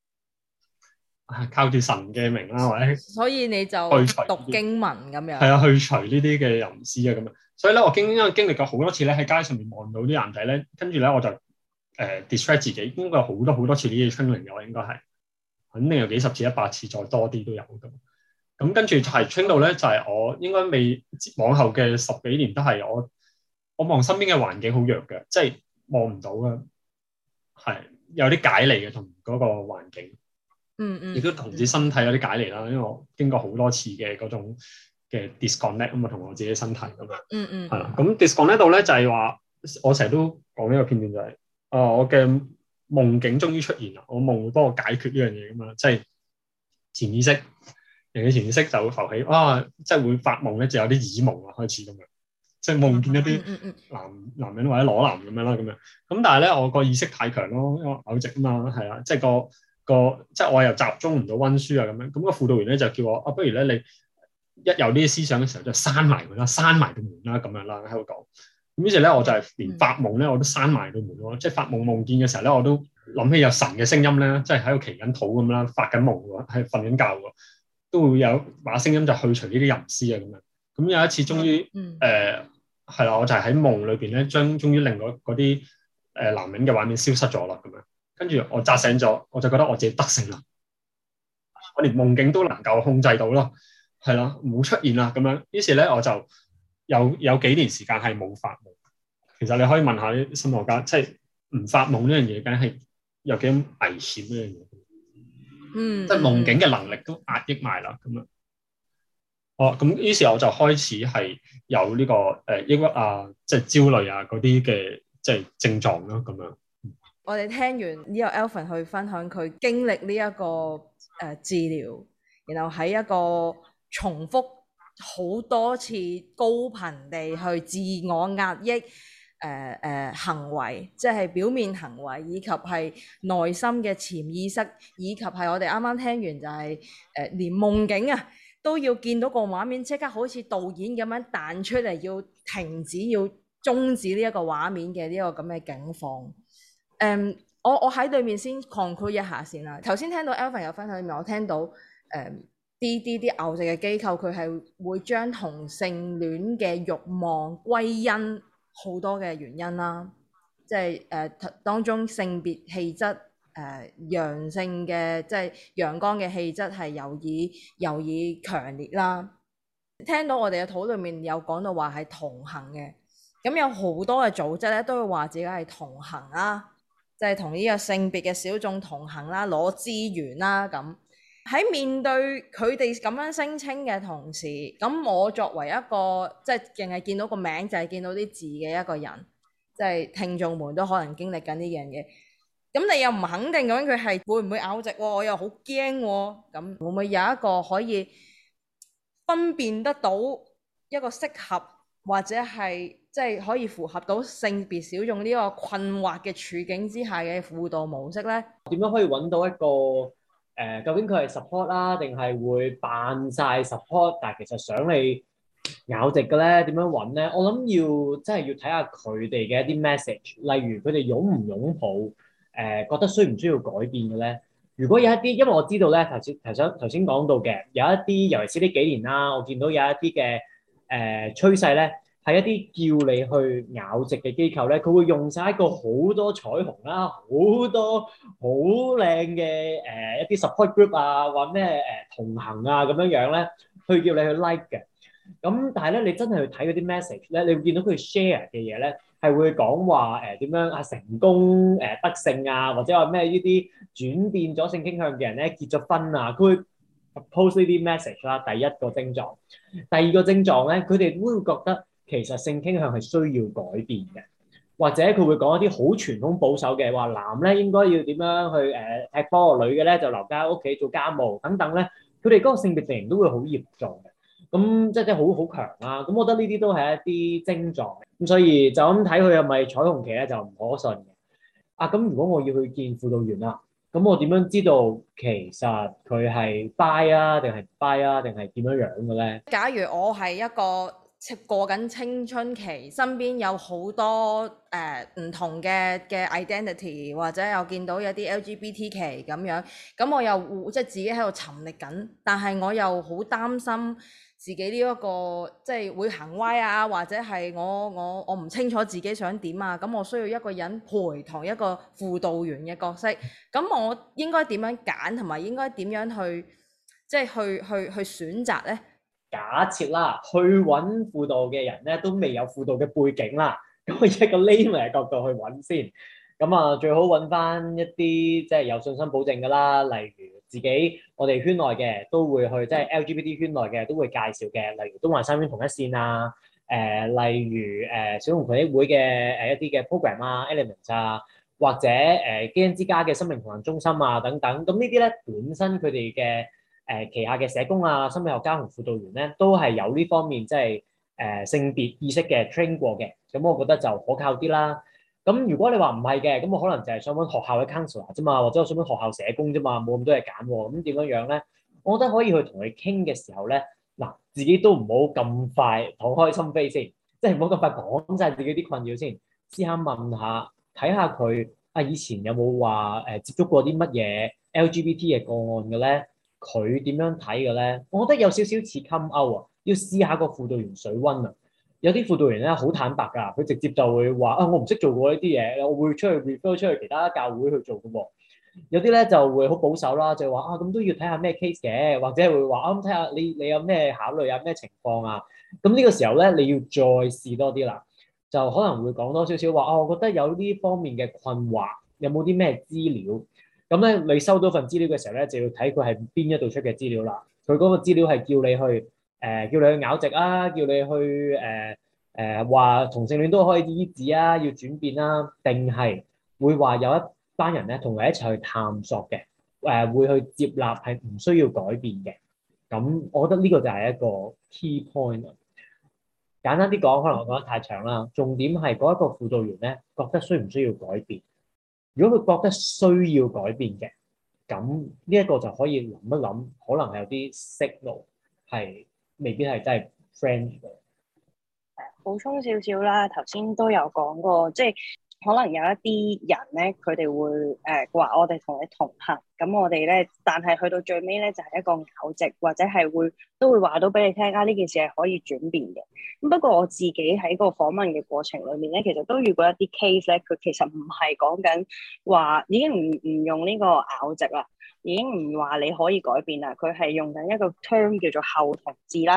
靠住神嘅名啦，或者所以你就讀經文咁樣。係啊，去除呢啲嘅淫絲啊咁樣。所以咧，我經歷過好多次咧，喺街上面望到啲男仔咧，跟住咧我就distract 自己，應該有好多次呢啲 training 嘅，我應該係肯定有幾十次、100次再多啲都有咁。咁跟住係 train 到咧，就係我應該未往後嘅10幾年都係我望身邊嘅環境好弱嘅，即係望唔到嘅，係有啲解離嘅同嗰個環境。亦都同自己身體有啲解離啦，因為我經過好多次嘅嗰種嘅 disconnect 咁啊，同我自己身體咁樣。係啦，咁 disconnect 度咧就係話，我成日都講呢個片段就係，我嘅夢境終於出現啦，我夢會幫我解決呢樣嘢㗎嘛，即係潛意識，人嘅潛意識就會浮起，即係會發夢咧就有啲耳夢啊開始咁樣，即係夢見一啲男人或者裸男咁樣啦咁樣。咁但係咧我個意識太強咯，因為我偶直啊嘛，係啊，即係即係我又集中唔到溫書啊咁樣，咁個輔導員咧就叫我不如咧你一有呢啲思想嘅時候就閂埋佢啦，閂埋個門啦咁樣啦喺度講。咁於是咧我就係連發夢咧我都閂埋個門咯，即係發夢見嘅時候咧我都諗起有神嘅聲音咧，即係喺度祈緊禱咁啦，發緊夢喎，係瞓緊覺喎，都會有把聲音就去除呢啲淫絲啊咁樣。咁有一次終於係啦，我就係喺夢裏邊咧終於令嗰啲男人嘅畫面消失咗啦咁樣。跟住我扎醒咗，我就覺得我自己得勝啦，我連夢境都能夠控制到咯，係啦，冇出現啦咁樣。於是咧我就有幾年時間係冇發夢。其實你可以問下啲心理學家，即係唔發夢呢樣嘢，梗係有幾咁危險呢樣嘢。即係夢境嘅能力都壓抑埋啦咁樣。咁於是我就開始係有呢個抑鬱啊，即係焦慮啊嗰啲嘅即係症狀咯咁樣。 我哋聽完呢個 Alvin 去分享佢經歷呢一個治療，然後喺一個重複好多次高頻地去自我壓抑行為，即係表面行為，以及係內心嘅潛意識，以及係我哋啱啱聽完就係連夢境啊都要見到個畫面，即刻好似導演咁樣彈出嚟，要停止、要終止呢一個畫面嘅呢個咁嘅境況。我喺對面先 conclude 一下先啦。頭先聽到 Alvin 有分享裏面，我聽到啲偶像嘅機構，佢係會將同性戀嘅慾望歸因好多嘅原因啦，即係當中性別氣質陽性嘅，即係陽光嘅氣質係尤以強烈啦。 聽到我哋嘅討論面有講到話係同行嘅，咁有好多嘅組織咧都會話自己係同行啦，即係同呢個性別嘅小眾同行啦，攞資源啦咁。喺面對佢哋咁樣聲稱嘅同時，咁我作為一個即係淨係見到個名就係見到啲字嘅一個人，即係聽眾們都可能經歷緊呢樣嘢。咁你又唔肯定咁佢係會唔會拗直喎？我又好驚喎。咁會唔會有一個可以分辨得到一個適合或者係即係可以符合到性別小眾呢個困惑嘅處境之下嘅輔導模式呢？ 點樣可以揾到一個究竟佢係 support 啦，定係會扮晒 support，但係其實想你拗直嘅咧？點樣揾咧？我諗真係要睇下佢哋嘅一啲 message，例如佢哋擁唔擁抱覺得需唔需要改變嘅咧？如果有一啲，因為我知道咧頭先講到嘅有一啲，尤其是呢幾年啦，我見到有一啲嘅趨勢咧，係一啲叫你去拗直嘅機構咧，佢會用晒一個好多彩虹啦，好多好靚嘅一啲 support group 啊，或咩同行啊咁樣樣咧，去叫你去 like 嘅。咁但係咧，你真係去睇嗰啲 message 咧，你會見到佢 share 嘅嘢咧，係會講話點樣啊成功得勝啊，或者話咩呢啲轉變咗性傾向嘅人咧結咗婚啊，佢會 post 呢啲 message 啦。第一個症狀，第二個症狀咧，佢哋會覺得其實性傾向係需要改變嘅，或者佢會講一啲好傳統保守嘅話，男咧應該要點樣去踢波，女嘅咧就留家喺屋企做家務等等咧，佢哋嗰個性別定型都會好嚴重嘅。咁即係好強啦。咁我覺得呢啲都係一啲症狀。咁所以就咁睇佢係咪彩虹旗咧，就唔可信嘅。啊，咁如果我要去見輔導員啦，咁我點樣知道其實佢係 bi 啊，定係唔 bi 啊，定係點樣樣嘅咧？ 假如我係一個過緊青春期，身邊有好多唔同嘅 identity， 或者又見到有啲 LGBT 期咁樣，咁我又即係自己喺度沉溺緊，但係我又好擔心自己呢一個即係會行歪啊，或者係我唔清楚自己想點啊，咁我需要一個人陪同一個輔導員嘅角色，咁我應該點樣揀，同埋應該點樣去即係去選擇呢？ 假設啦，去揾輔導嘅人咧都未有輔導嘅背景啦，咁我以一個 layman 嘅角度去揾先。咁啊，最好揾翻一啲即係有信心保證㗎啦，例如自己我哋圈內嘅都會去，即係 LGBT 圈內嘅都會介紹嘅，例如東華三院同一線啊，例如小童群益會嘅一啲嘅 program 啊 elements 啊，或者基恩之家嘅生命同行中心啊等等。咁呢啲咧本身佢哋嘅旗下嘅社工啊、心理學家同輔導員咧，都係有呢方面即係性別意識嘅 train 過嘅，咁我覺得就可靠啲啦。咁如果你話唔係嘅，咁我可能就係想揾學校嘅 counselor 啫嘛，或者我想揾學校社工啫嘛，冇咁多嘢揀喎。咁點樣樣咧？我覺得可以去同佢傾嘅時候咧，嗱，自己都唔好咁快敞開心扉先，即係唔好咁快講晒自己啲困擾先，試下問下，睇下佢啊以前有冇話接觸過啲乜嘢 LGBT 嘅個案嘅咧？佢點樣睇嘅咧？我覺得有少少似 come out 啊，要試下個輔導員水溫啊。有啲輔導員咧好坦白㗎，佢直接就會話啊，我唔識做過呢啲嘢，我會出去 refer 出去其他教會去做嘅喎。有啲咧就會好保守啦，就話啊咁都要睇下咩 case 嘅，或者會話啊咁睇下你有咩考慮啊，咩情況啊。咁呢個時候咧，你要再試多啲啦，就可能會講多少少話啊，我覺得有呢方面嘅困惑，有冇啲咩資料？咁咧，你收到份資料嘅時候咧，就要睇佢係邊一度出嘅資料啦。佢嗰個資料係叫你去叫你去拗直啊，叫你去話同性戀都可以醫治啊，要轉變啦，定係會話有一班人咧同你一齊去探索嘅，會去接納係唔需要改變嘅。咁我覺得呢個就係一個 key point。簡單啲講，可能我講得太長啦。重點係嗰一個輔導員咧，覺得需唔需要改變？如果佢覺得需要改變嘅，咁呢一個就可以諗一諗，可能係有啲 signal 係未必係真係 friend 嘅。 補充少少啦，頭先都有講過，即係可能有一啲人咧，佢哋會話我哋同你同行，咁我哋咧，但係去到最尾咧就係一個拗直，或者係都會話到俾你聽啊，呢件事係可以轉變嘅。咁不過我自己喺個訪問嘅過程裏面咧，其實都遇過一啲 case 咧，佢其實唔係講緊話已經唔用呢個拗直啦，已經唔話你可以改變啦，佢係用緊一個 term 叫做後同志啦。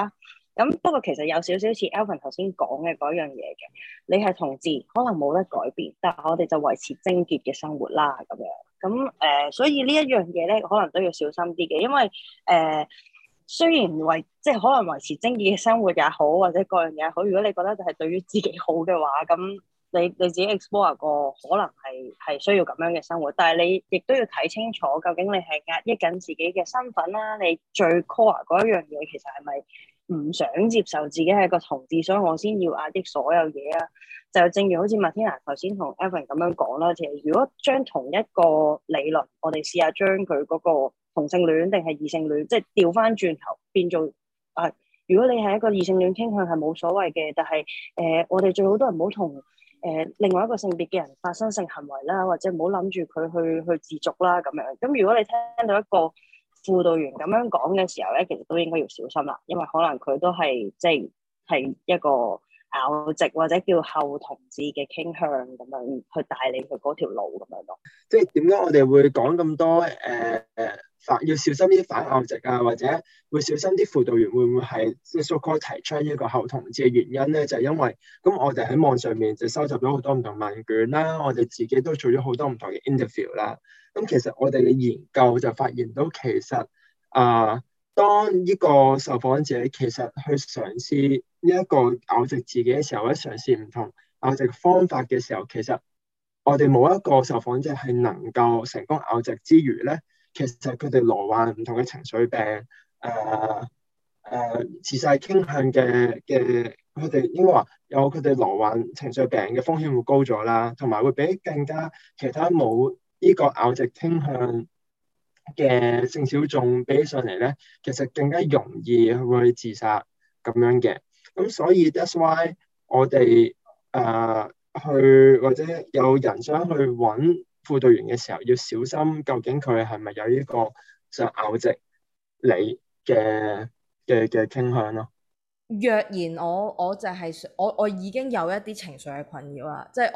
咁不過其實有少少似 Alvin 頭先講嘅嗰樣嘢嘅，你係同志可能冇得改變，但係我哋就維持貞潔嘅生活啦咁樣。咁所以呢一樣嘢咧，可能都要小心啲嘅，因為雖然即係可能維持貞潔嘅生活也好，或者各樣嘢好，如果你覺得就係對於自己好嘅話，咁你自己 explore 過，可能係需要咁樣嘅生活，但係你亦都要睇清楚，究竟你係壓抑緊自己嘅身份啦，你最 core 嗰一樣嘢其實係咪唔想接受自己係個同志，所以我先要壓抑所有嘢啊？就正如好似 Martina 頭先同 Evan 咁樣講啦，其實如果將同一個理論，我哋試下將佢嗰個同性戀定係異性戀，即係調翻轉頭變做如果你係一個異性戀傾向係冇所謂嘅，但係我哋最好都係唔好同另外一個性別嘅人發生性行為啦，或者唔好諗住佢去自瀆啦咁樣。咁如果你聽到一個輔導員咁樣講嘅時候咧，其實都應該要小心啦，因為可能佢都係即係一個拗直或者叫後同志嘅傾向咁樣去帶你去嗰條路咁樣咯。 即係點解我哋會講咁多要小心啲反拗直啊，或者會小心啲輔導員會唔會係即係 so-called 提倡呢個後同志嘅原因咧？就係因為咁我哋喺網上面就收集咗好多唔同問卷啦，我哋自己都做咗好多唔同嘅 interview 啦。咁其實我哋嘅研究就發現到其實當呢個受訪者其實去嘗試呢一個拗直自己嘅時候，或者嘗試唔同拗直方法嘅時候，其實我哋冇一個受訪者係能夠成功拗直之餘咧，其實佢哋罹患唔同嘅情緒病、自殺傾向嘅，佢哋應該話有佢哋罹患情緒病嘅風險會高咗啦，同埋會比更加其他冇呢個拗直傾向嘅性小眾比起上嚟咧，其實更加容易會自殺咁樣嘅。咁所以 that's why 我哋去或者有人想去揾輔導員嘅時候，要小心究竟佢係咪有呢個想拗直你嘅傾向咯。 若然我就係我已經有一啲情緒嘅困擾啦，即係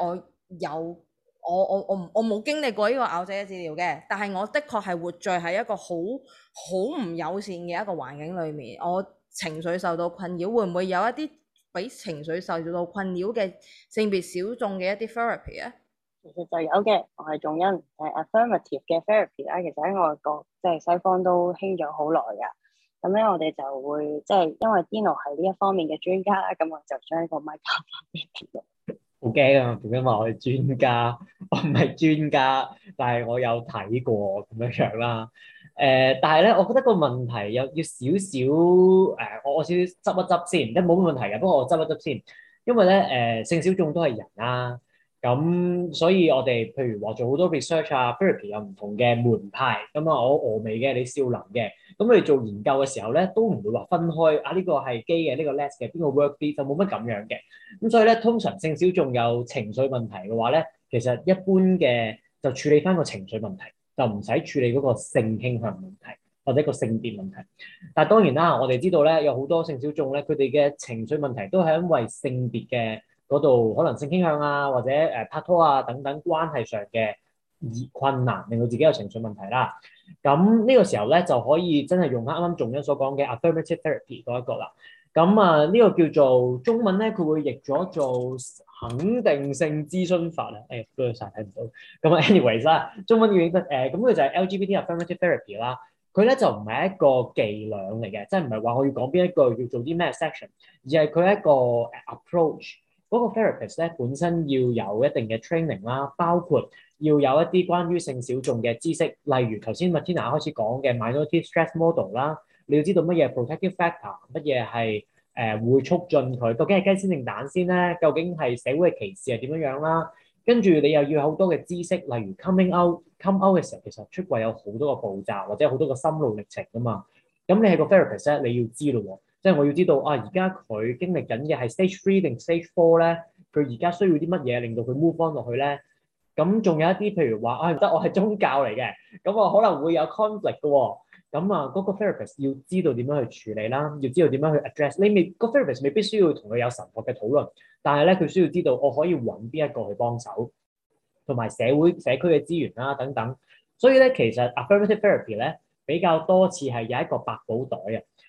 我冇經歷過呢個拗直嘅治療嘅，但係我的確係活在喺一個好唔友善嘅一個環境裏面，我情緒受到困擾，會唔會有一啲俾情緒受到困擾嘅性別小眾嘅一啲 therapy 啊？ 其實就有嘅，我係仲因係 affirmative 嘅 therapy 啦。其實喺外國即係西方都興咗好耐㗎。咁咧，我哋就會即係因為 Dino 係呢一方面嘅專家啦，咁我就將呢個麥交翻俾 Dino。 好驚啊！點解話我係專家？我唔係專家，但係我有睇過咁樣啦。但係咧，我覺得個問題有要少少我少少執一執先，即係冇乜問題嘅。不過我執一執先，因為咧性小眾都係人啦。咁所以我哋譬如話做好多 research 啊 therapy 有唔同嘅門派，咁啊我峨眉嘅，你少林嘅，咁我哋做研究嘅時候咧，都唔會話分開呢個係基嘅，呢個 les 嘅，邊個 work 啲，就冇乜咁樣嘅。咁所以咧，通常性小眾有情緒問題嘅話咧，其實一般嘅就處理翻個情緒問題，就唔使處理嗰個性傾向問題或者個性別問題。但係當然啦，我哋知道咧，有好多性小眾咧，佢哋嘅情緒問題都係因為性別嘅嗰度可能性傾向啊，或者拍拖啊等等關係上嘅困難，令到自己有情緒問題啦。咁呢個時候咧就可以真係用啱啱仲欣所講嘅 affirmative therapy 嗰一個啦。咁呢個叫做中文咧，佢會譯咗做肯定性諮詢法啊。都有晒睇唔到。咁 anyways 啦，中文譯得咁佢就係 LGBT affirmative therapy 啦。佢咧就唔係一個伎倆嚟嘅，即係唔係話我要講邊一個要做啲咩 section，而係佢係一個 approach。嗰個 therapist 咧本身要有一定嘅 training 啦，包括要有一啲關於性小眾嘅知識，例如頭先 Martina 開始講嘅 minority stress model 啦，你要知道乜嘢 protective factor，乜嘢係會促進佢，究竟係雞先定蛋先咧？究竟係社會嘅歧視係點樣樣啦？跟住你又要有好多嘅知識，例如 come out 嘅時候，其實出櫃有好多個步驟，或者好多個心路歷程噶嘛。咁你係個 therapist 咧，你要知咯喎。即係我要知道而家佢經歷緊嘅係 stage 3定 stage 4咧，佢而家需要啲乜嘢令到佢 move on 落去咧？咁仲有一啲譬如話唔得，我係宗教嚟嘅，咁我可能會有 conflict 嘅喎。咁嗰個 therapist 要知道點樣去處理啦，要知道點樣去 address。個 therapist 未必需要同佢有神學嘅討論，但係咧佢需要知道我可以揾邊一個去幫手，同埋社區嘅資源啦等等。所以咧其實 affirmative therapy 咧比較多次係有一個百寶袋啊。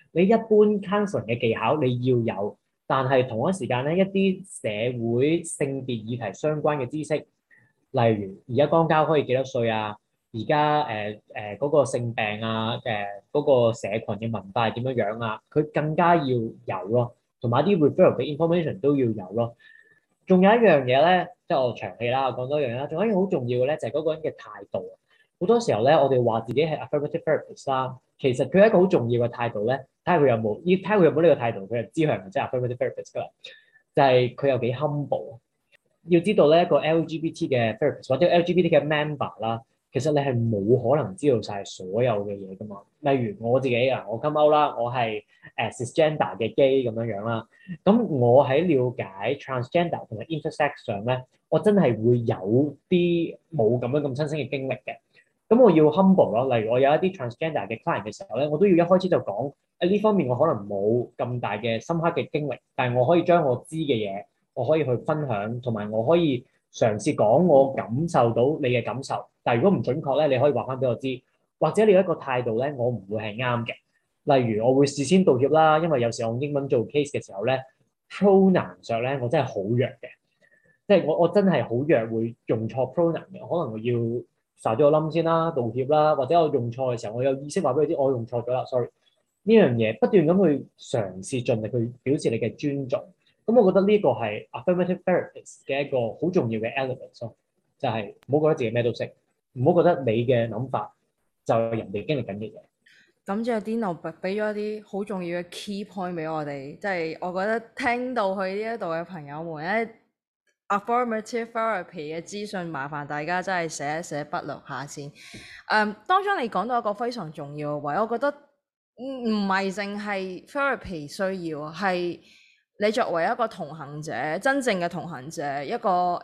你一般 counseling 嘅技巧你要有，但係同一時間咧一啲社會性別議題相關嘅知識，例如而家肛交可以幾多歲啊？而家嗰個性病啊，嗰個社群嘅文化係點樣樣啊？佢更加要有咯，同埋啲 referral 嘅 information 都要有咯。仲有一樣嘢咧，即係我長氣啦，講多樣啦。仲有一樣好重要嘅咧，就係嗰個人嘅態度。好多時候咧，我哋話自己係 affirmative therapist 啦，其實佢係一個好重要嘅態度咧。睇下佢有冇，要睇下佢有冇呢個態度，佢就知佢係咪真係 affirmative therapist 㗎啦。就係佢有幾 humble。要知道咧，一個 LGBT 嘅 therapist 或者 LGBT 嘅 member 啦，其實你係冇可能知道晒所有嘅嘢㗎嘛。例如我自己啊，我 come out 啦，我係cisgender 嘅 gay 咁樣樣啦。咁我喺了解 transgender 同埋 intersex 上咧，我真係會有啲冇咁樣咁親身嘅經歷嘅。咁我要 humble 咯。例如我有一啲 transgender 嘅 client 嘅時候咧，我都要一開始就講呢方面我可能冇咁大嘅深刻嘅經歷，但係我可以將我知嘅嘢，我可以去分享，同埋我可以嘗試講我感受到你嘅感受。但係如果唔準確咧，你可以話翻俾我知，或者你有一個態度咧，我唔會係啱嘅。例如我會事先道歉啦，因為有時候用英文做 case 嘅時候咧 pronoun 上咧我真係好弱嘅，即係我真係好弱會用錯 pronoun 嘅，可能我要曬咗個冧先啦，道歉啦，或者我用錯嘅時候，我有意識話俾佢知我用錯咗啦，sorry。呢樣嘢不斷咁去嘗試盡力去表示你嘅尊重。咁我覺得呢個係 affirmative therapist 嘅一個好重要嘅 element 咯，就係唔好覺得自己咩都識，唔好覺得你嘅諗法就係人哋經歷緊嘅嘢。 感謝 Dino 俾咗一啲好重要嘅 key point 俾我哋，即係我覺得聽到去呢一度嘅朋友們咧，affirmative therapy 嘅資訊，麻煩大家真係寫一寫筆錄下先。當中你講到一個非常重要嘅位，我覺得唔係淨係 therapy 需要，係你作為一個同行者，真正嘅同行者，一個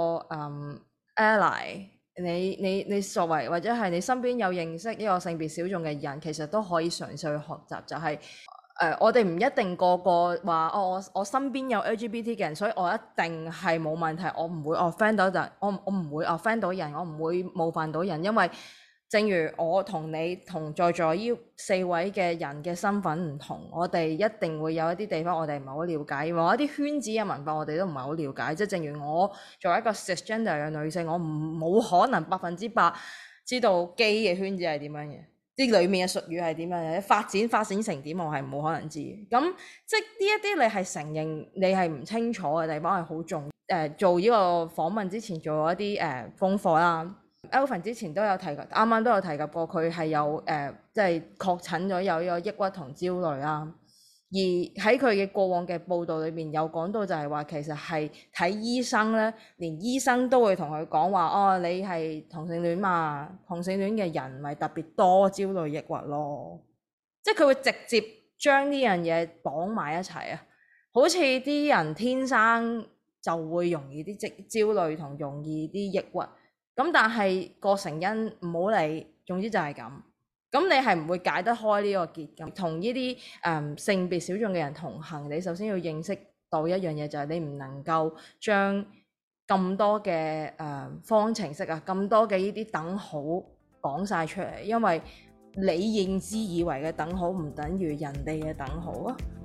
ally。你作為或者係你身邊有認識呢個性別小眾嘅人，其實都可以嘗試去學習，就係我哋唔一定個個話我身邊有 LGBT 嘅人，所以我一定係冇問題，我唔會 offend 到人，我唔會 offend 到人，我唔會冒犯到人，因為正如我同你同在座呢4位嘅人嘅身份唔同，我哋一定會有一啲地方我哋唔係好了解，某一啲圈子嘅文化我哋都唔係好了解。即係正如我作為一個 cisgender 嘅女性，我冇可能100%知道 gay 嘅圈子係點樣嘅，啲裡面嘅術語係點樣嘅，發展成點，我係冇可能知。咁即係呢一啲你係承認你係唔清楚嘅地方係好重要。做呢個訪問之前做咗一啲功課啦。Alvin 之前都有提及，啱啱都有提及過，佢係有即係確診咗有呢個抑鬱同焦慮啦。而喺佢嘅過往嘅報道裏面有講到就係話，其實係睇醫生咧，連醫生都會同佢講話，哦，你係同性戀嘛，同性戀嘅人咪特別多焦慮抑鬱咯。即係佢會直接將呢樣嘢綁埋一齊啊，好似啲人天生就會容易啲焦慮同容易啲抑鬱。咁但係個成因唔好理，總之就係咁。咁你係唔會解得開呢個結咁。同呢啲性別小眾嘅人同行，你首先要認識到一樣嘢，就係你唔能夠將咁多嘅方程式啊，咁多嘅呢啲等號講晒出嚟，因為你認知以為嘅等號唔等於人哋嘅等號啊。